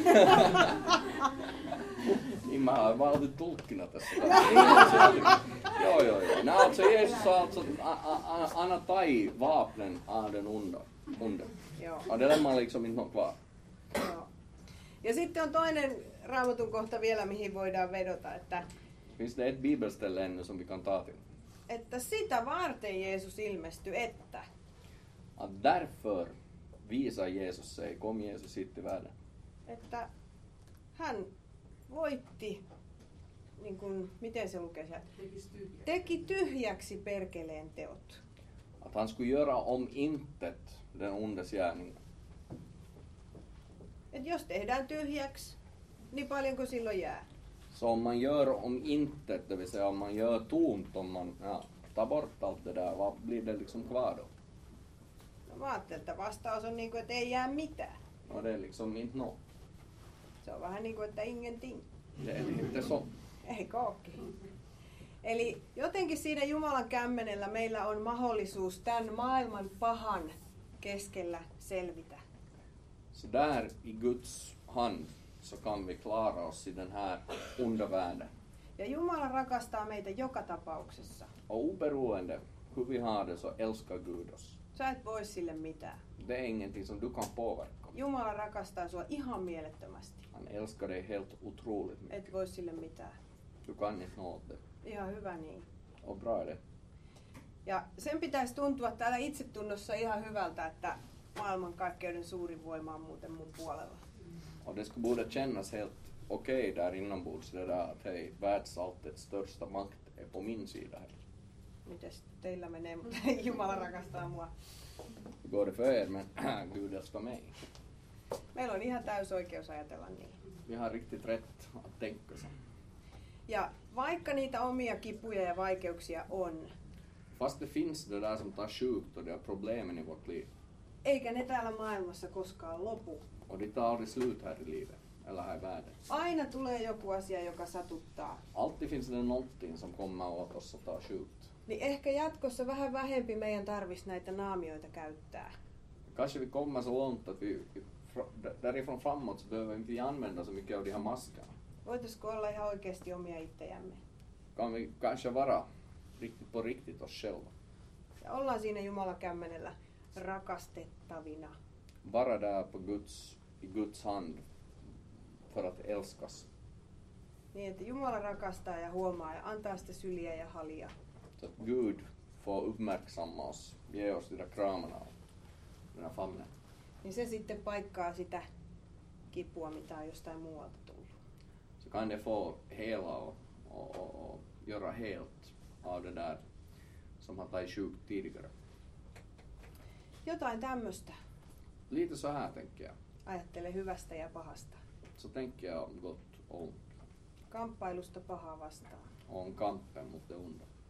Niin mä har bara alltid tulkkina tässä. Joo, joo, joo. Nej, alltså Jesus har alltså, han har tagit vapnen av den onda. onda. Joo. Och det lämnar liksom inte något kvar. Joo. Ja sitten on toinen raamatun kohta vielä, mihin voidaan vedota, että, Finns det ett bibelställe ännu som vi kan ta till? että sitä varten Jeesus ilmestyi, että Att därför visar Jesus sig, kom Jesus hit till världen. että hän voitti, niin kuin, miten se lukee sieltä? Teki tyhjäksi perkeleen teot. Att han skulle göra om intet den ondes gärningar. Et jos tehdään tyhjäksi, niin paljonko silloin jää? Så om man gör om intet, det vill säga om man gör tomt, om man ja, tar bort allt det där, vad blir det liksom kvar då? No, mä ajattelin, että vastaus on niin kuin, että ei jää mitään. Och det är liksom inte något. Se on vähän niin kuin, että ingenting. Det är inte så. Eikö ookin? Eli jotenkin siinä Jumalan kämmenellä meillä on mahdollisuus tämän maailman pahan keskellä selvitä. Så där i Guds hand så kan vi klara oss i den här onda världen. Ja Jumala rakastaa meitä joka tapauksessa. Och oberoende hur vi har det så älskar Gud oss. Sä et voi sille mitään. Det är ingenting som du kan påverka. Jumala rakastaa sua ihan mielettömästi. Han älskar dig helt otroligt mycket. Et voi sille mitään. Du kan inte nå det. Ihan hyvä niin. Och bra är det. Ja sen pitäisi tuntua täällä itsetunnossa ihan hyvältä, että maailmankaikkeuden suurin voima on muuten mun puolella. Och det skulle borde kännas helt okej där inombords det där att hej, världsalltets största makt är på min sida här. Mites teillä menee, mutta Jumala rakastaa mua. Hur går det för er? Men Gud älskar mig. Meillä on ihan täys oikeus ajatella niin. Vi har riktigt rätt att tänka så. Ja vaikka niitä omia kipuja ja vaikeuksia on, Fast det finns det där som tar sjukt och det är problemen i vårt liv. eikä ne täällä maailmassa koskaan lopu. Och det tar aldrig slut här i livet. Eller här i världen. Aina tulee joku asia, joka satuttaa. Alltid finns det någonting som kommer åt oss och tar sjukt. Niin ehkä jatkossa vähän vähempi meidän tarvitsisi näitä naamioita käyttää. Kanske vi kommer så långt att vi, därifrån framåt så behöver vi inte använda så mycket av de här maskerna. Voitaisiko olla ihan oikeasti omia itsejämme? Kan vi kanske vara riktigt på riktigt oss själva. Ja ollaan siinä Jumalan kämmenellä rakastettavina. Vara där på Guds, i Guds hand för att älskas. Niin, että Jumala rakastaa ja huomaa ja antaa sitä syliä ja halia. Så att Gud får uppmärksamma oss, ge oss de där kramarna och den här famnen. Niin se sitten paikkaa sitä kipua, mitä on jostain muualta tullut. Så kan det få hela och, och, och, och göra helt av det där som har tagit sjukt tidigare. Jotain tämmöistä. Lite så här tänker jag. Ajattele hyvästä ja pahasta. Så tänker jag om gott och ont. Kamppailusta pahaa vastaan. Om kampen mot det onda.